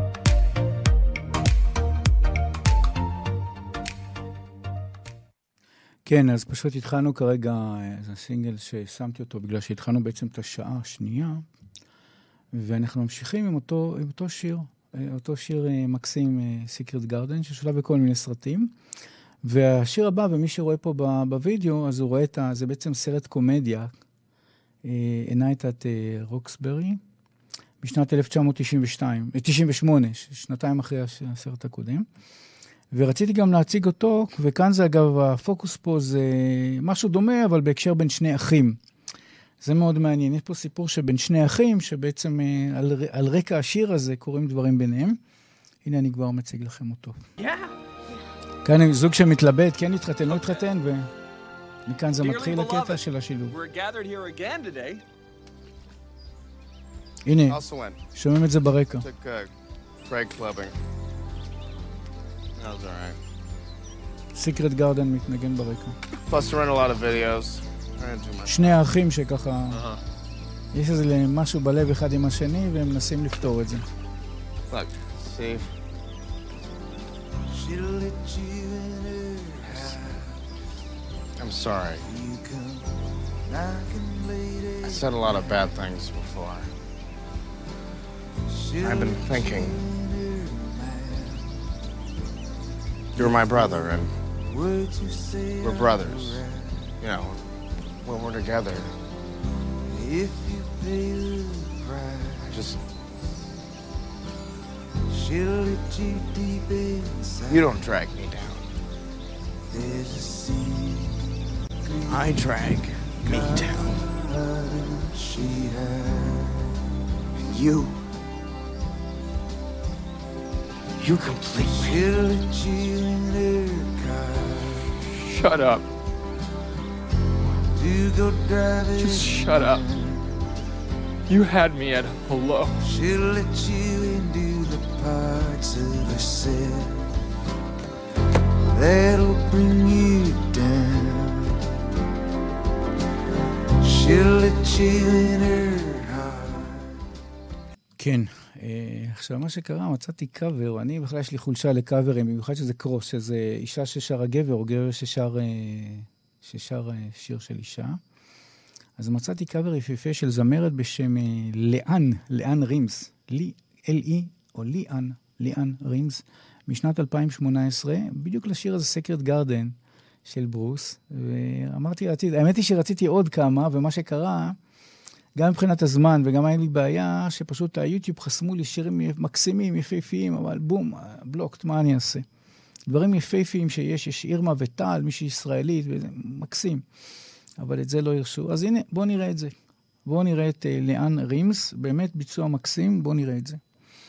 Speaker 3: כן, אז פשוט התחלנו כרגע, זה סינגל ששמתי אותו, בגלל שהתחלנו בעצם את השעה השנייה, ואנחנו ממשיכים עם אותו שיר, אותו שיר מקסים, Secret Garden, ששולב בכל מיני סרטים. והשיר הבא, ומי שרואה פה בווידאו, אז הוא רואה זה בעצם סרט קומדיה, A Night at Roxbury, בשנת 1998, שנתיים אחרי הסרט הקודם. ורציתי גם להציג אותו, וכאן זה אגב, הפוקוס פה זה משהו דומה, אבל בהקשר בין שני אחים. זה מאוד מעניין. יש פה סיפור שבין שני אחים, שבעצם על רקע השיר הזה קוראים דברים ביניהם. הנה אני כבר מציג לכם אותו. כאן זוג שמתלבט, כן התחתן, לא התחתן, ומכאן זה מתחיל הקטע של השילוב. הנה, שומעים את זה ברקע. Secret Garden מתנגן ברקע. שני האחים שככה, יש איזה משהו בלב אחד עם השני, והם מנסים לפתור את זה.
Speaker 19: I'm sorry. I said a lot of bad things before. I've been thinking. You're my brother, and we're brothers. You know, when we're together. I just... You don't drag me down. I drag me down. And you completely... Shut up. Just shut up. You had me at hello.
Speaker 18: She'll let you into the parts of herself that'll bring you down. She'll let you in her heart.
Speaker 3: כן, עכשיו מה שקרה, מצאתי קאבר, אני בכלל יש לי חולשה לקאברים, במיוחד שזה קרוס, שזה אישה ששרה גבר, או גבר ששר שיר של אישה. אז מצאתי קאבר יפיפה של זמרת בשם ליאן רימס, L-E או ליאן רימס, משנת 2018, בדיוק לשיר הזה Secret Garden של ברוס, ואמרתי, האמת היא שרציתי עוד כמה, ומה שקרה, גם מבחינת הזמן, וגם היה לי בעיה שפשוט היוטיוב חסמו לי שירים מקסימים, יפהפיים, אבל בום, בלוקט, מה אני אעשה? דברים יפהפיים יש אירמה וטל, מישהי ישראלית, וזה מקסים. אבל את זה לא ירשו. אז הנה, בואו נראה את זה. בואו נראה את ליאן רימס, באמת ביצוע מקסים, בואו נראה את זה.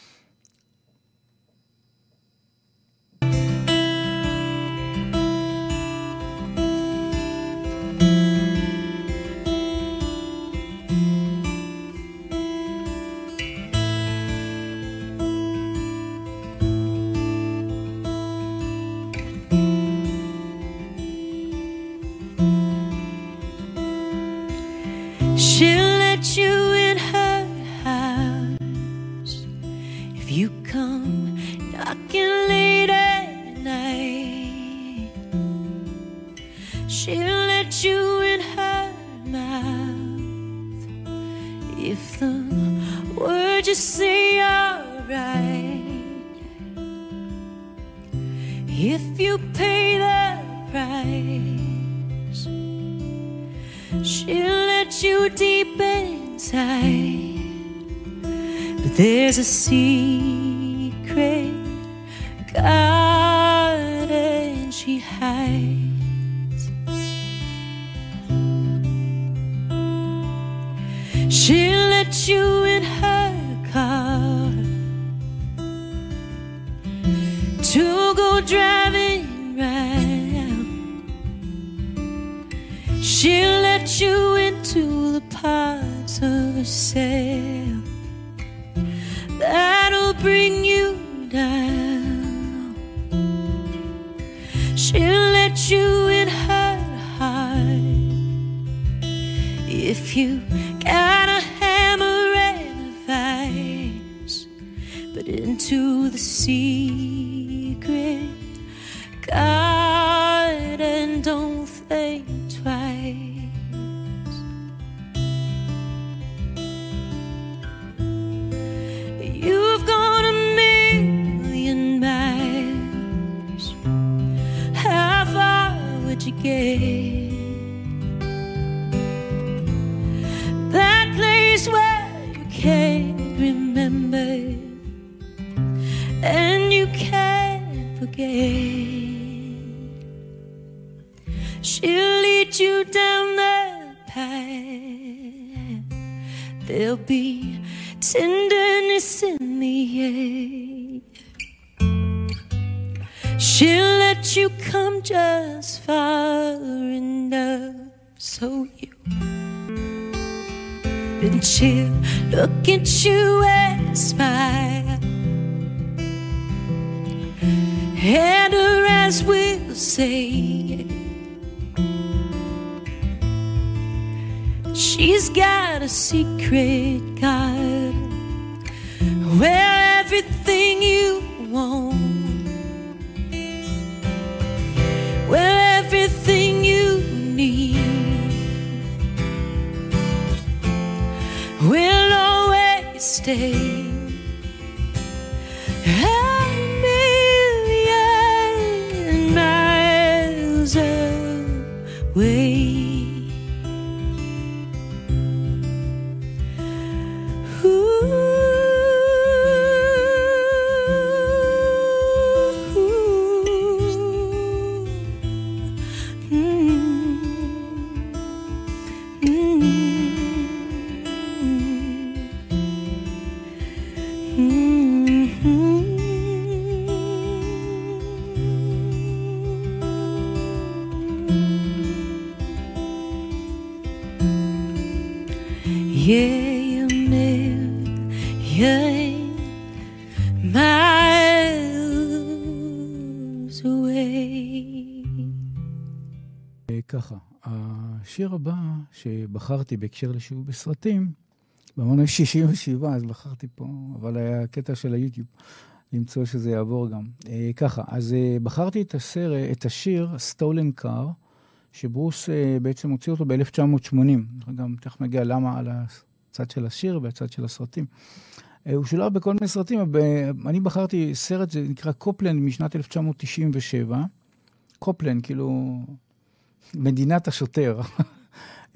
Speaker 20: She'll let you in her house if you come knocking late at night. She'll let you in her mouth if the words you say are right. If you pay the price, she'll let you deep inside. But there's a secret garden she hides. She'll let you in her car to go driving round. She'll let you into the parts of herself that'll bring you down. She'll let you in her heart if you got a hammer and a vise, but into the secret garden don't think twice. You've gone a million miles. How far would you get? That place where you can't remember and you can't forget. She'll lead you down the path. There'll be tenderness in the air. She'll let you come just far enough so you then she'll look at you and smile, and her eyes will say she's got a secret garden where everything you want, where everything you need will always stay. A million miles away.
Speaker 3: ככה, השיר הבא שבחרתי בהקשר לשיעור בסרטים, במונה 67, אז בחרתי פה, אבל היה קטע של היוטיוב, למצוא שזה יעבור גם. ככה, אז בחרתי את השיר Stolen Car, שברוס בעצם הוציא אותו ב-1980. גם תכף מגיע למה על הצד של השיר והצד של הסרטים. הוא שולב בכל מיני סרטים, אני בחרתי סרט, זה נקרא קופלנד משנת 1997. קופלנד, כאילו מדינת השוטר.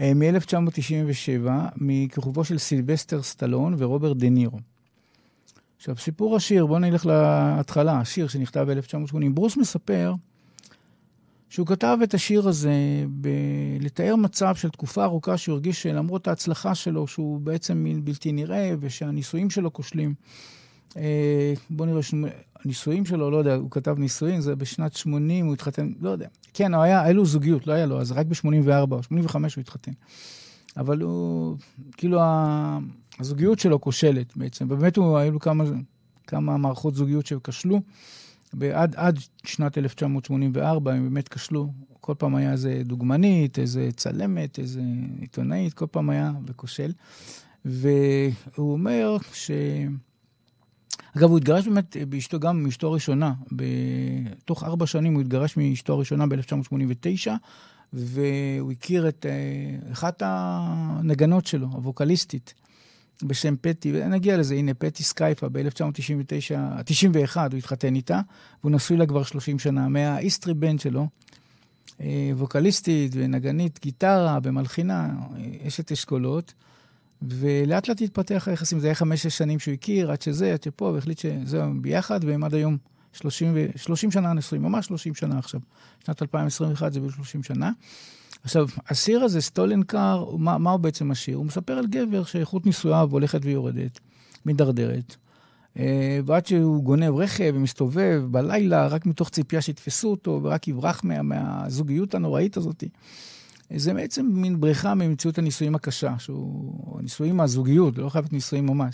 Speaker 3: מ-1997, מכיכובו של סילבסטר סטלון ורוברט דה נירו. עכשיו, סיפור השיר, בואו נלך להתחלה, השיר שנכתב ב-1980. ברוס מספר שהוא כתב את השיר הזה לתאר מצב של תקופה ארוכה שהוא הרגיש שלמרות ההצלחה שלו, שהוא בעצם בלתי נראה, ושהניסויים שלו כושלים. בואו נראה, הניסויים שלו, לא יודע, הוא כתב ניסויים, זה בשנת 80, הוא התחתן, לא יודע. כן, היה לו זוגיות, לא היה לו, אז רק ב-84 או 85 הוא התחתן. אבל הוא, כאילו, הזוגיות שלו כושלת בעצם, ובאמת היו לו כמה מערכות זוגיות שכשלו, עד שנת 1984 הם באמת כשלו, כל פעם היה איזה דוגמנית, איזה צלמת, איזה עיתונאית, כל פעם היה וכושל, והוא אומר אגב, הוא התגרש באמת באשתו, גם מאשתו הראשונה, בתוך 4 שנים הוא התגרש מאשתו הראשונה ב-1989, והוא הכיר את אחת הנגנות שלו, הווקליסטית, בשם פטי, ונגיע לזה, הנה, פטי סקייפה, ב-1991 הוא התחתן איתה, והוא נשוי לה כבר 30 שנה, מהאיסטרי בנד שלו, ווקליסטית ונגנית, גיטרה ומלחינה, אשת אשכולות, ולאט לאט התפתח היחסים, זה היה 5-6 שנים שהוא הכיר, עד שזה, עד שפה, והחליט שזהו ביחד, והם עד היום 30 שנה נשואים, ממש 30 שנה עכשיו. שנת 2021 זה ב-30 שנה. עכשיו, השיר הזה, סטולן קאר, מה הוא בעצם השיר? הוא מספר על גבר שאיכות נישואיו הולכת ויורדת, מדרדרת, ועד שהוא גונב רכב ומסתובב בלילה, רק מתוך ציפייה שיתפסו אותו, ורק יברח מהזוגיות הנוראית הזאת. זה בעצם מין בריחה ממציאות הניסויים הקשה, הניסויים מהזוגיות, לא חייבת ניסויים ממש.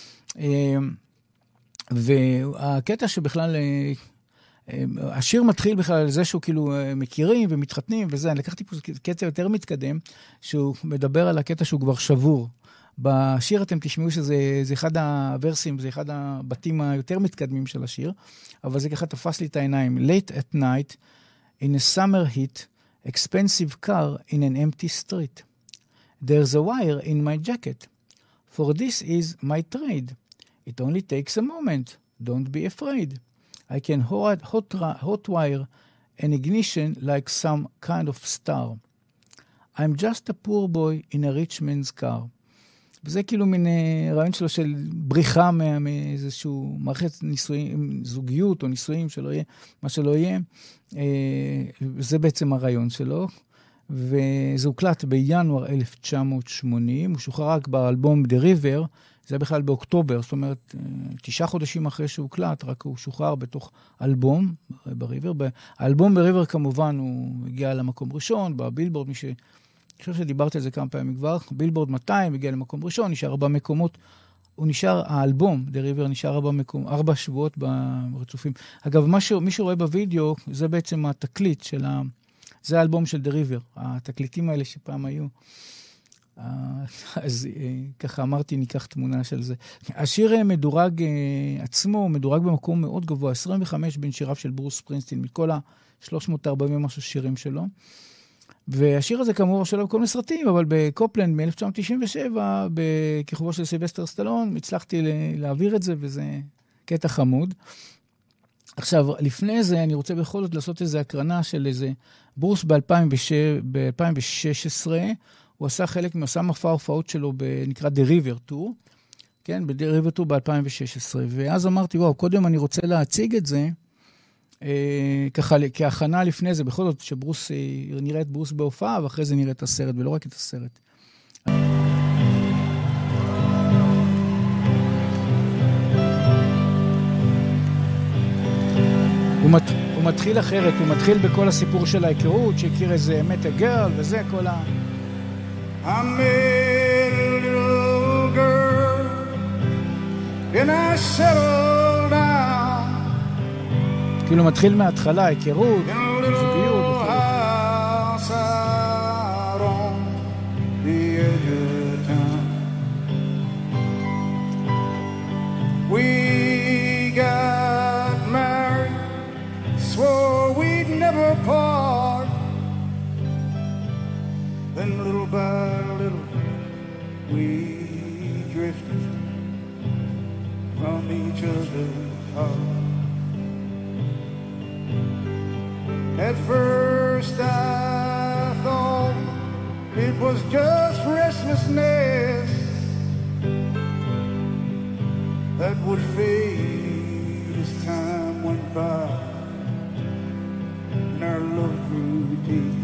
Speaker 3: והקטע שבכלל, השיר מתחיל בכלל על זה שהוא כאילו מכירים ומתחתנים וזה, אני לקחתי פה קטע יותר מתקדם, שהוא מדבר על הקטע שהוא כבר שבור. בשיר אתם תשמעו שזה אחד הוורסים, זה אחד הבתים היותר מתקדמים של השיר, אבל זה ככה תפס לי את העיניים. Late at night, in a summer heat, expensive car in an empty street. There's a wire in my jacket. For this is my trade. It only takes a moment. Don't be afraid. I can hot wire an ignition like some kind of star. I'm just a poor boy in a rich man's car. וזה כאילו מין רעיון שלו של בריחה מאיזשהו מערכת ניסויים, זוגיות או ניסויים שלא יהיה, מה שלא יהיה. זה בעצם הרעיון שלו. וזה הוקלט בינואר 1980, הוא שוחרר רק באלבום The River, זה בכלל באוקטובר, זאת אומרת 9 חודשים אחרי שהוא הוקלט, רק הוא שוחרר בתוך אלבום בריבר. האלבום בריבר כמובן הוא הגיע למקום ראשון, בבילבורד, אני חושב שדיברתי על זה כמה פעמים כבר, בילבורד 200 הגיע למקום ראשון, נשאר 4 מקומות, הוא נשאר, האלבום, The River, נשאר 4 שבועות ברצופים. אגב, מי שרואה בווידאו, זה בעצם התקליט של זה האלבום של The River, התקליטים האלה שפעם היו. אז ככה אמרתי, ניקח תמונה של זה. השיר מדורג עצמו, מדורג במקום מאוד גבוה, 25 בין שיריו של ברוס ספרינגסטין, מכל ה-340 משהו שירים שלו. והשיר הזה כאמור שלו בכל מסרטים, אבל בקופלנד מ-1997, בכיכובו של סילבסטר סטלון, הצלחתי להעביר את זה, וזה קטע חמוד. עכשיו, לפני זה אני רוצה בכל זאת לעשות איזו הקרנה של איזה ברוס ב-2016, הוא עשה חלק מעשה מופע ההופעות שלו, נקרא The River Tour, כן, ב-The River Tour ב-2016, ואז אמרתי, וואו, קודם אני רוצה להציג את זה, ככה כהכנה לפני זה, בכל זאת שברוס, נראה את ברוס בהופעה, ואחרי זה נראה את הסרט, ולא רק את הסרט. הוא מתחיל אחרת, הוא מתחיל בכל הסיפור של ההיכרות, שהכיר איזה מטה גרל, וזה כל ה...
Speaker 4: I met a little girl and I settled down.
Speaker 3: כאילו מתחיל מההתחלה, היכרות, זוגיות.
Speaker 4: House out on the edge of town. We got married, swore we'd never part. Then little by little we drifted from each other's heart. At first I thought it it was just restlessness that would fade as time went by and our love grew deep.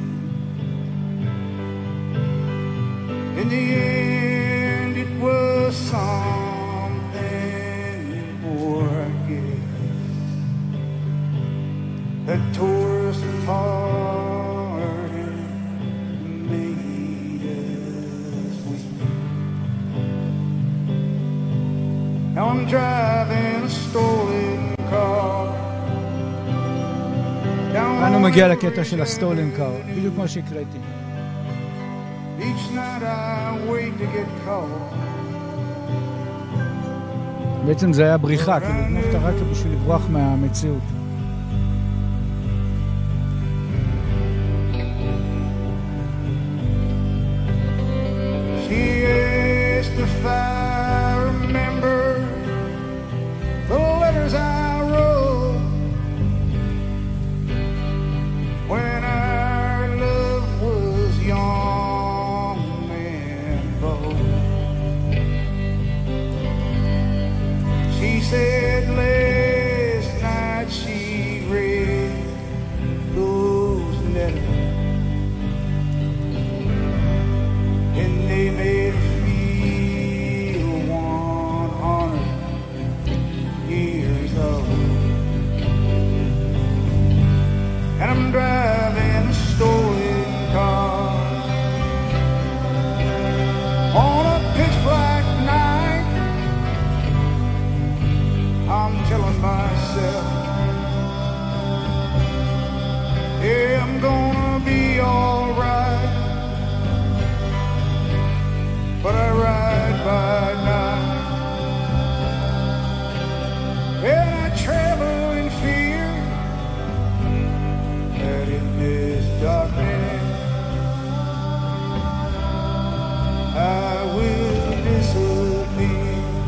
Speaker 4: In the end, it was something more, I guess, that tore us apart and made us weak. Now I'm driving a stolen car.
Speaker 3: אנו מגיע לקטע של הסטולן קאר, בדיוק כמו שהקראתי.
Speaker 4: Each night I wait to get caught.
Speaker 3: בעצם זה היה בריחה, כאילו לגנוב את הרקע בשביל לברוח מהמציאות.
Speaker 4: She asked if I remember the letters I wrote when our love was young and bold. She said last night she read those letters and they made her feel 100 years old. And I'm driving a stolen car on a pitch black night. I'm telling myself, yeah, I'm gonna be alright. But I ride by night and I travel in fear that in this darkness I will disappear.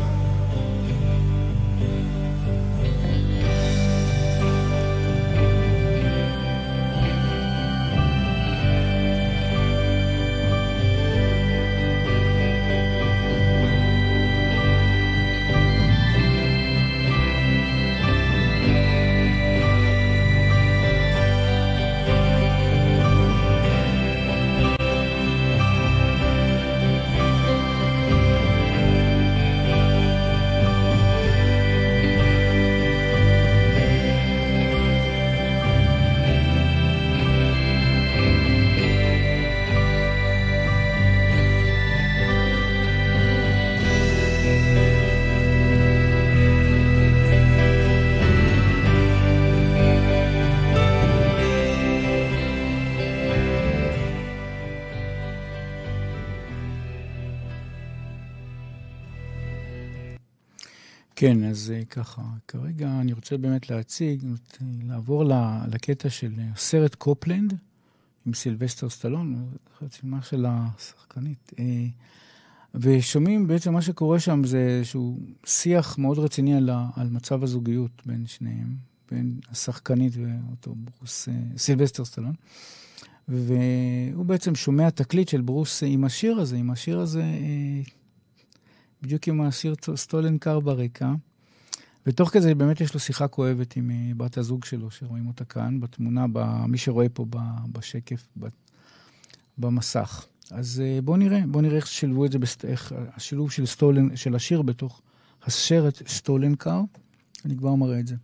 Speaker 3: כן, אז ככה, כרגע אני רוצה באמת לעבור לקטע של סרט קופלנד, עם סילבסטר סטלון, חצימה של השחקנית. ושומעים בעצם מה שקורה שם זה איזשהו שיח מאוד רציני על מצב הזוגיות בין שניהם, בין השחקנית ואותו ברוס, סילבסטר סטלון. והוא בעצם שומע תקליט של ברוס עם השיר הזה, בדיוק עם השיר סטולן קאר ברקע. ותוך כזה באמת יש לו שיחה כואבת עם בת הזוג שלו, שרואים אותה כאן, בתמונה, מי שרואה פה בשקף, במסך. אז בואו נראה איך שילבו את זה, איך השילוב של השיר בתוך הסרט סטולן קאר. אני כבר מראה את זה.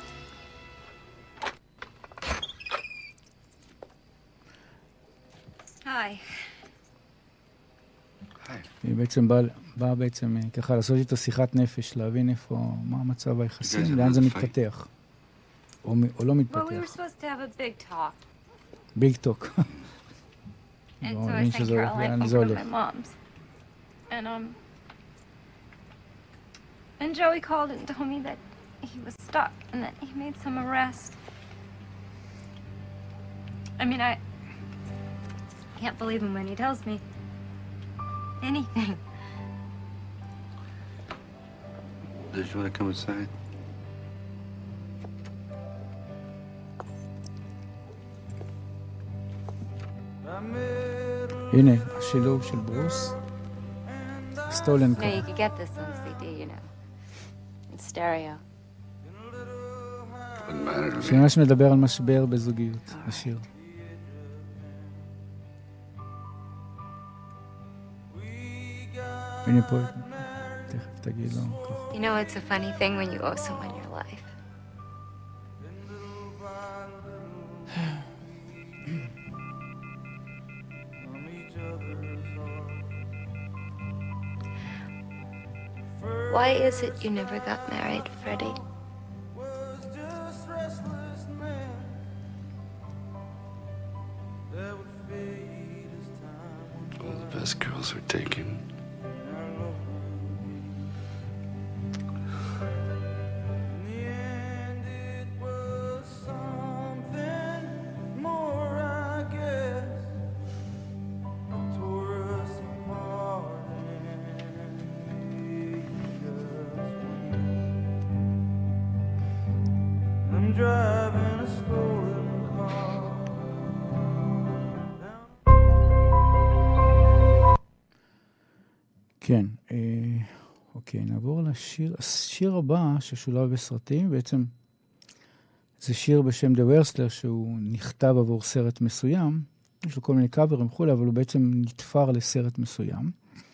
Speaker 10: היי.
Speaker 3: היא בעצם באה בעצם ככה לעשות איתו שיחת נפש, להבין איפה, מה המצב היחסים, לאן זה מתפתח. או לא מתפתח.
Speaker 10: Well, we were supposed to have a big talk.
Speaker 3: Big talk.
Speaker 10: And so I sent Caroline over to my mom's. And Joey called and told me that he was stuck and that he made some arrest. I mean, I can't believe him when he tells me anything.
Speaker 9: Does you want to come inside?
Speaker 4: I met a
Speaker 3: הנה, השילוב של ברוס. סטולן
Speaker 10: No, you could get this on CD, you know. In stereo.
Speaker 9: Wouldn't matter to me.
Speaker 3: שממש מדבר על משבר בזוגיות, השיר. הנה פה, תכף תגיד לו ככה.
Speaker 10: You know, it's a funny thing when you owe someone your life. Why is it you never got married, Freddie?
Speaker 9: All the best girls are taken.
Speaker 3: כן, אוקיי, נעבור לשיר. השיר הבא ששולב בסרטים, בעצם זה שיר בשם The Wrestler, שהוא נכתב עבור סרט מסוים, יש לו כל מיני קאברים וכולי, אבל הוא בעצם נתפר לסרט מסוים,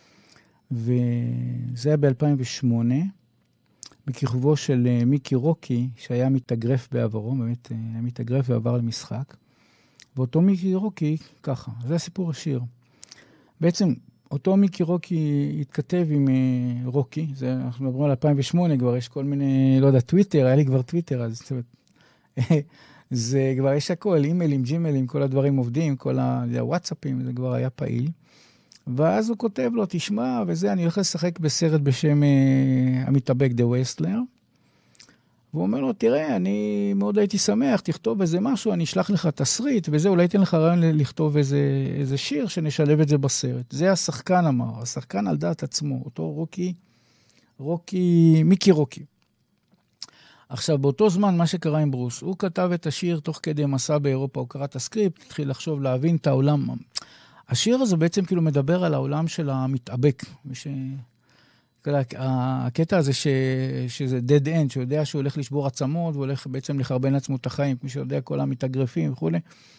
Speaker 3: וזה היה ב-2008, בכיכובו של מיקי רוקי, שהיה מתאגרף בעברו, באמת היה מתאגרף ועבר למשחק, ואותו מיקי רוקי, ככה, זה הסיפור השיר. בעצם, אותו מיקי רוקי התכתב עם רוקי, זה, אנחנו מדברים על 2008, כבר יש כל מיני, לא יודע, טוויטר, היה לי כבר טוויטר, אז זה כבר יש הכל, אימיילים, ג'ימיילים, כל הדברים עובדים, כל הוואטסאפים, זה כבר היה פעיל. ואז הוא כותב לו, תשמע, וזה, אני הולך לשחק בסרט בשם המתאבק The Wrestler, והוא אומר לו, תראה, אני מאוד הייתי שמח, תכתוב איזה משהו, אני אשלח לך תסריט, וזה, אולי תן לך רעיון לכתוב איזה שיר, שנשלב את זה בסרט. זה השחקן אמר, השחקן על דעת עצמו, אותו מיקי רוקי. עכשיו, באותו זמן, מה שקרה עם ברוס, הוא כתב את השיר תוך כדי מסע באירופה, הוא קרא את הסקריפט, התחיל לחשוב, להבין את העולם. השיר הזה בעצם כאילו מדבר על העולם של המתאבק, הקטע הזה שזה dead end, שהוא יודע שהוא הולך לשבור עצמות, והוא הולך בעצם לחרבן לעצמו את החיים, כמו שיודע כל המתאגרפים וכו'.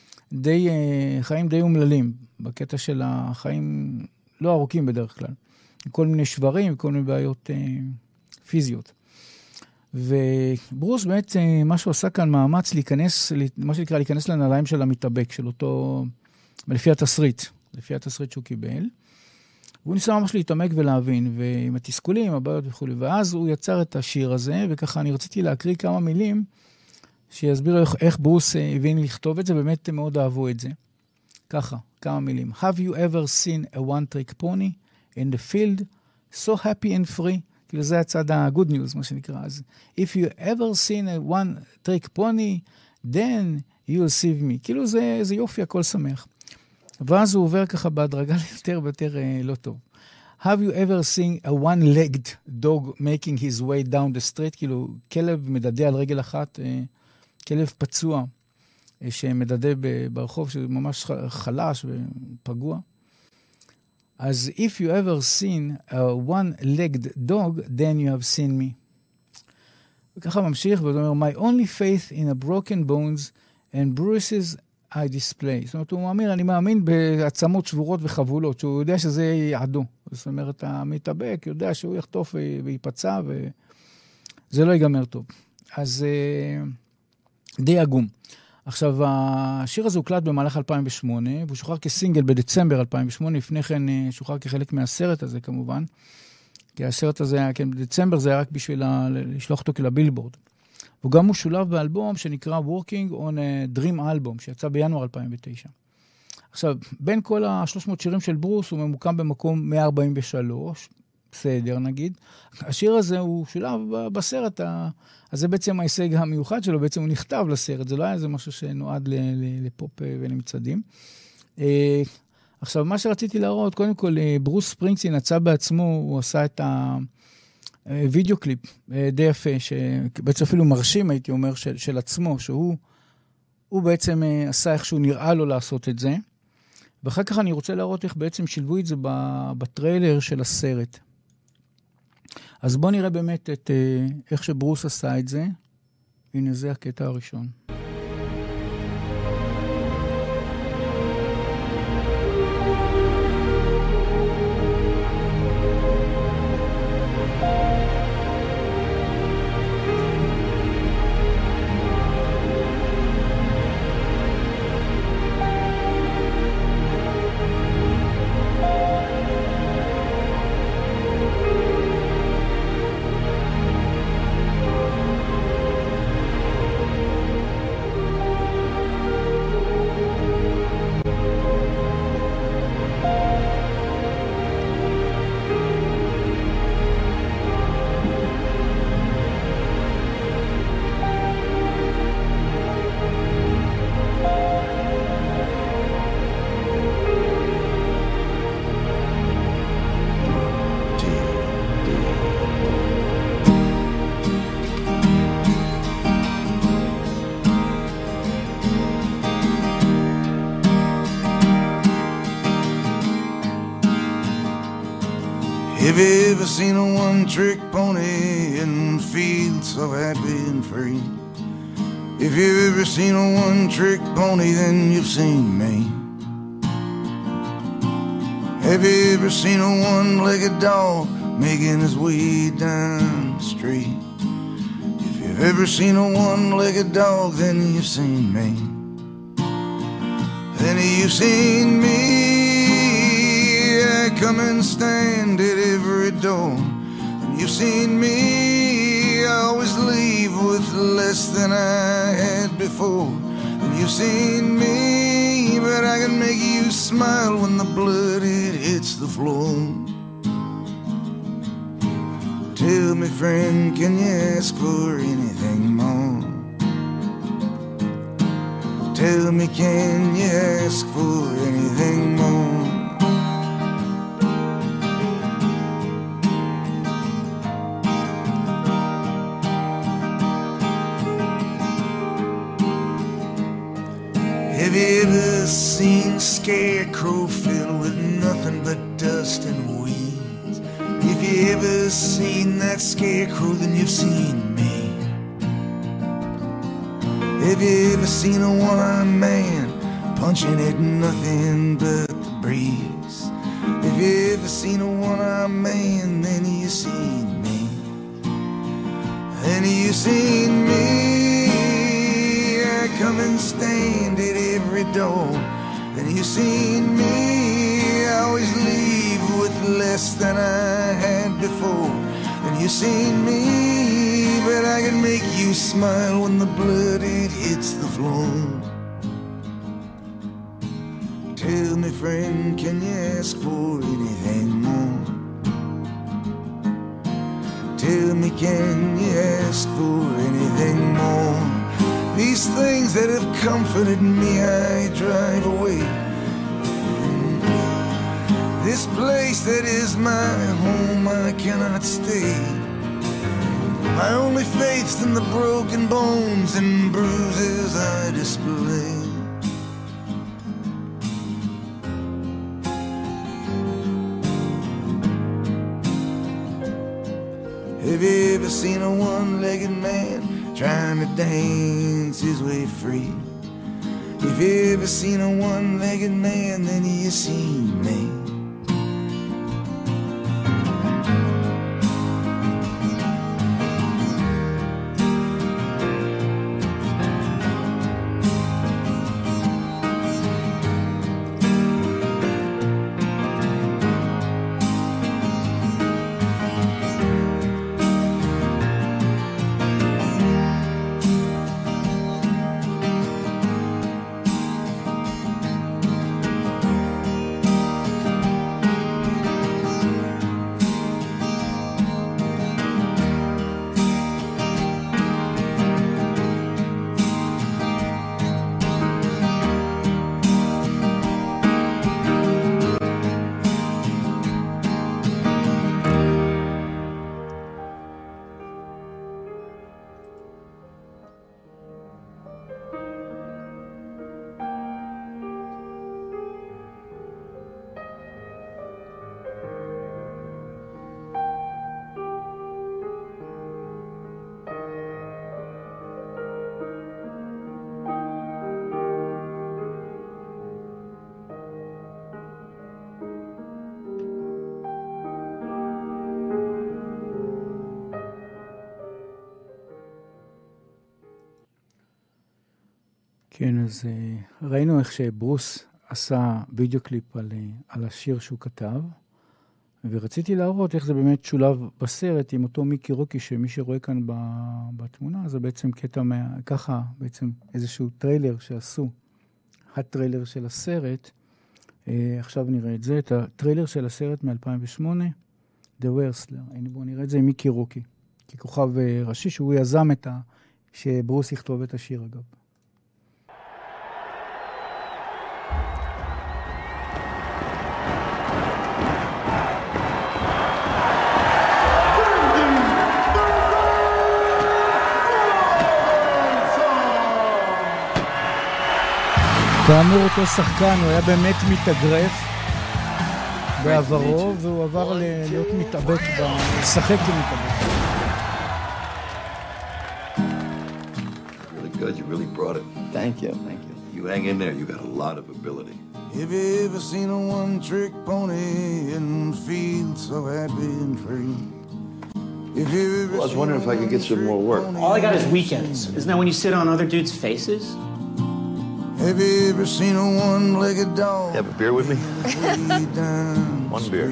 Speaker 3: חיים די אומללים, בקטע של החיים לא ארוכים בדרך כלל. כל מיני שברים, כל מיני בעיות פיזיות. וברוס באמת, מה שהוא עשה כאן מאמץ להיכנס, מה שנקרא להיכנס לנעליים של המתאבק, של אותו, לפי התסריט שהוא קיבל. והוא ניסה ממש להתעמק ולהבין, ועם התסכולים, הבעיות וכו'. ואז הוא יצר את השיר הזה, וככה אני רציתי להקריא כמה מילים, שיסבירו איך ברוס הבין לכתוב את זה, באמת מאוד אהבו את זה. ככה, כמה מילים. Have you ever seen a one-trick pony in the field, so happy and free? כאילו זה הצד ה-good news, מה שנקרא. אז, if you ever seen a one-trick pony, then you'll save me. כאילו זה יופי, הכל שמח. ואז הוא עובר ככה בהדרגה יותר ויותר לא טוב. Have you ever seen a one-legged dog making his way down the street? כאילו כלב מדדה על רגל אחת, כלב פצוע שמדדה ברחוב, שזה ממש חלש ופגוע. אז if you ever seen a one-legged dog, then you have seen me. וככה ממשיך, והוא אומר, my only faith in a broken bones and bruises I display. זאת אומרת, הוא מאמין, אני מאמין בעצמות שבורות וחבולות, שהוא יודע שזה יעדו. זאת אומרת, המתאבק יודע שהוא יחטוף ויפצע, וזה לא ייגמר טוב. אז די עגום. עכשיו, השיר הזה הוקלט במהלך 2008, והוא שוחרר כסינגל בדצמבר 2008, לפני כן שוחרר כחלק מהסרט הזה כמובן, כי הסרט הזה, כן, בדצמבר זה היה רק בשביל לשלוח אותו לבילבורד. וגם הוא שולב באלבום שנקרא Working on a Dream Album, שיצא בינואר 2009. עכשיו, בין כל ה-300 שירים של ברוס, הוא ממוקם במקום 143, בסדר נגיד. השיר הזה הוא שולב בסרט, אז זה בעצם ההישג המיוחד שלו, בעצם הוא נכתב לסרט, זה לא היה איזה משהו שנועד לפופ ולמצעדים. עכשיו, מה שרציתי להראות, קודם כל, ברוס ספרינגסטין יצא בעצמו, הוא עשה את וידאו קליפ די יפה, שבעצם אפילו מרשים, הייתי אומר, של עצמו, שהוא בעצם עשה איך שהוא נראה לו לעשות את זה, ואחר כך אני רוצה להראות איך בעצם שילבו את זה בטריילר של הסרט. אז בואו נראה באמת את איך שברוס עשה את זה. הנה זה הקטע הראשון.
Speaker 18: Have you ever seen a one-trick pony and feel so happy and free? If you've ever seen a one-trick pony, then you've seen me. Have you ever seen a one-legged dog making his way down the street? If you've ever seen a one-legged dog, then you've seen me. Then you've seen me. I come and stand at every door. And you've seen me. I always leave with less than I had before. And you've seen me, but I can make you smile when the blood it hits the floor. Tell me, friend, can you ask for anything more? Tell me, can you ask for anything more? Have you ever seen a scarecrow filled with nothing but dust and weeds? If you ever seen that scarecrow, then you've seen me. Have you ever seen a one-armed man punching at nothing but the breeze? Have you ever seen a one-armed man, then you've seen me. Then you've seen me. I come and stand at every door. Then you've seen me. I always leave with less than I had before. And you've seen me, but I can make you smile when the blood it hits the floor. Tell me, friend, can you ask for anything more? Tell me, can you ask for anything more? These things that have comforted me, I drive away. This place that is my home, I cannot stay. My only faith's in the broken bones and bruises I display. Have you ever seen a one-legged man trying to dance his way free? If you ever seen a one-legged man, then you seen me.
Speaker 3: כן, אז ראינו איך שברוס עשה וידאו קליפ על השיר שהוא כתב, ורציתי להראות איך זה באמת שולב בסרט עם אותו מיקי רוקי, שמי שרואה כאן בתמונה, זה בעצם קטע ככה, בעצם איזשהו טריילר שעשו, הטריילר של הסרט. עכשיו נראה את זה, את הטריילר של הסרט מ-2008, The Wrestler. הנה בואו נראה את זה עם מיקי רוקי, ככוכב ראשי, שהוא יזם שברוס יכתוב את השיר אגב. כאמור אותו שחקן, הוא היה באמת מתאגרף בעברו, והוא עבר להיות מתאבק, לשחק כמתאבק.
Speaker 9: Really good, you really brought it.
Speaker 14: Thank you, thank you.
Speaker 9: You hang in there, you got a lot of ability.
Speaker 18: Have you ever seen a one-trick pony and feel so happy and free?
Speaker 9: Well, I was wondering if I could get some more work.
Speaker 12: All I got is weekends. Isn't that when you sit on other dudes' faces?
Speaker 18: Have you ever seen a one-legged dog?
Speaker 9: Have a beer with me? One beer.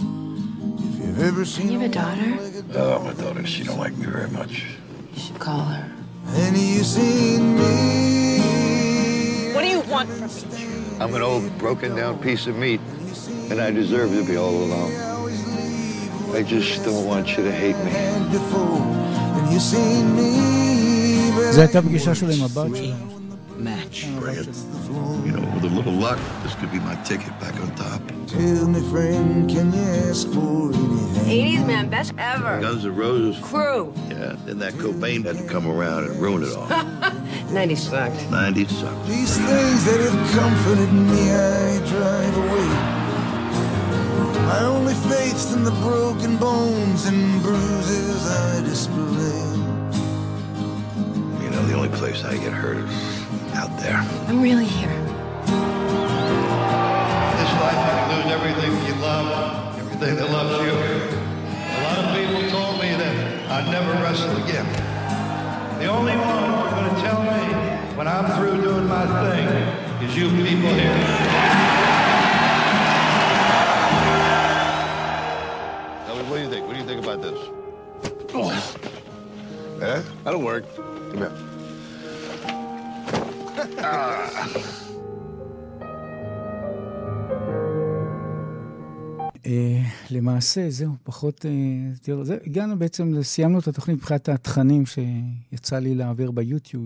Speaker 18: You
Speaker 10: have a daughter?
Speaker 9: Oh, my daughter, she don't like me very much.
Speaker 10: You should call her.
Speaker 18: And you seen me?
Speaker 16: What do you want from me?
Speaker 9: I'm an old, broken-down piece of meat, and I deserve to be all alone. I just don't want you to hate me.
Speaker 18: And you seen me?
Speaker 3: זה הייתה פגישה שלו עם הבת שלנו.
Speaker 9: Match. Bring it. You know, with a little luck, this could be my ticket back on top.
Speaker 18: Tell me, friend, can you ask for anything?
Speaker 10: 80s man, best ever.
Speaker 9: Guns N' Roses.
Speaker 10: Crew.
Speaker 9: Yeah, then that Cobain had to come around and ruin it all.
Speaker 10: 90s sucked.
Speaker 9: 90s sucked.
Speaker 18: These things that have comforted me, I drive away. My only faith's in the broken bones and bruises I display.
Speaker 9: You know, the only place I get hurt is out there.
Speaker 10: I'm really here.
Speaker 9: This life you can lose everything you love, everything that loves you. A lot of people told me that I'd never wrestle again. The only one who's going to tell me when I'm through doing my thing is you people here. Now, what do you think? What do you think about this? Oh. Eh? That'll work. Come here.
Speaker 3: למעשה, זהו, פחות... הגענו בעצם, סיימנו את התוכנית מבחינת התכנים שיצא לי להעביר ביוטיוב.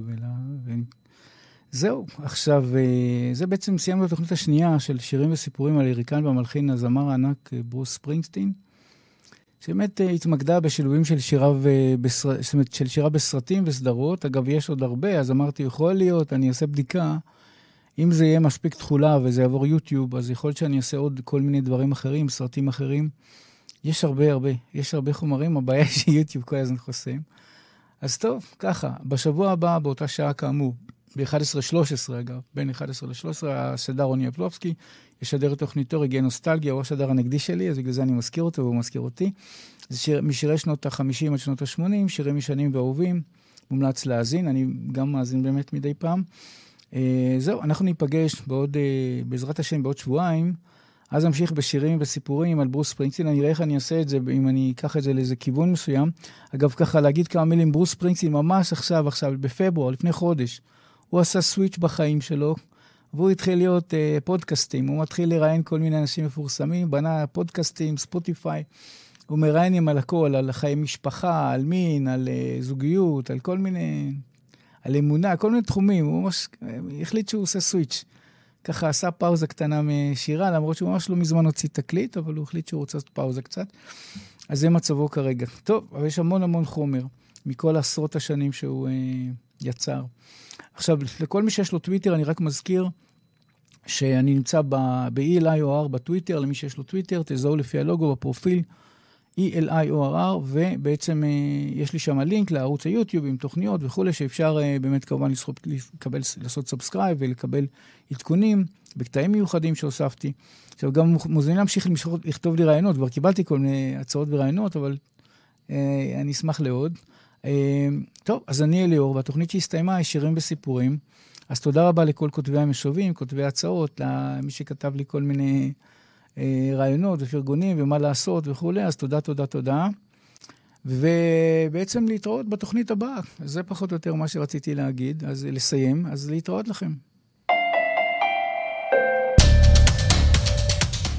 Speaker 3: זהו, עכשיו, זה בעצם סיימנו את התוכנית השנייה של שירים וסיפורים על יריקן והמלחין, הזמר הענק ברוס ספרינגסטין, שבאמת התמקדה בשילובים של שירה בסרטים וסדרות. אגב, יש עוד הרבה, אז אמרתי, יכול להיות, אני אעשה בדיקה, אם זה יהיה מספיק תחולה וזה יעבור יוטיוב, אז יכול להיות שאני אעשה עוד כל מיני דברים אחרים, סרטים אחרים. יש הרבה חומרים, הבעיה שיוטיוב כל הזמן חוסם. אז טוב, ככה, בשבוע הבא, באותה שעה כאמור, ב-11:13 אגב, בין 11 ל-13, השדר רוני אפלובסקי, ישדר את תוכניתו רגעי נוסטלגיה, הוא השדר הנגדי שלי, אז בגלל זה אני מזכיר אותו והוא מזכיר אותי. זה שיר משירי שנות ה-50 עד שנות ה-80, שירים ישנים ואהובים, מומלץ להאזין, אני גם מאזין באמת מדי פעם. זהו, אנחנו ניפגש בעזרת השם בעוד שבועיים, אז נמשיך בשירים וסיפורים על ברוס ספרינגסטין. אני אראה איך אני אעשה את זה, אם אני אקח את זה לאיזה כיוון מסוים. אגב, ככה להגיד כמה מילים, ברוס ספרינגסטין ממש עכשיו, בפברואר, לפני חודש, הוא עשה סוויץ' בחיים שלו, והוא התחיל להיות פודקאסטים, הוא מתחיל לראיין כל מיני אנשים מפורסמים, בנה פודקאסטים, ספוטיפיי, הוא מראיינים על הכל, על חיי משפחה, על מין, על זוגיות, על כל מיני, על אמונה, כל מיני תחומים, הוא ממש החליט שהוא עושה סוויץ'. ככה עשה פאוזה קטנה משירה, למרות שהוא ממש לא מזמן הוציא תקליט, אבל הוא החליט שהוא רוצה פאוזה קצת. אז זה מצבו כרגע. טוב, אבל יש המון חומר, מכל עשרות השנים שהוא יצר. עכשיו, לכל מי שיש לו טוויטר, אני רק מזכיר שאני נמצא ב-ELIOR בטוויטר, למי שיש לו טוויטר, תזהו לפי הלוגו בפרופיל ELIOR, ובעצם יש לי שם לינק לערוץ היוטיוב עם תוכניות וכו', שאפשר באמת כמובן לעשות סאבסקרייב ולקבל עדכונים בקטעים מיוחדים שהוספתי. עכשיו, גם מוזמנים להמשיך לכתוב לי רעיונות, כבר קיבלתי כל מיני הצעות ורעיונות, אבל אני אשמח לעוד. טוב, אז אני אליאור, והתוכנית שהסתיימה היא שירים וסיפורים. אז תודה רבה לכל כותבי המשובים, כותבי הצעות, למי שכתב לי כל מיני רעיונות ופרגונים ומה לעשות וכו'. אז תודה, תודה, תודה. ובעצם להתראות בתוכנית הבאה. זה פחות או יותר מה שרציתי להגיד, אז לסיים, אז להתראות לכם.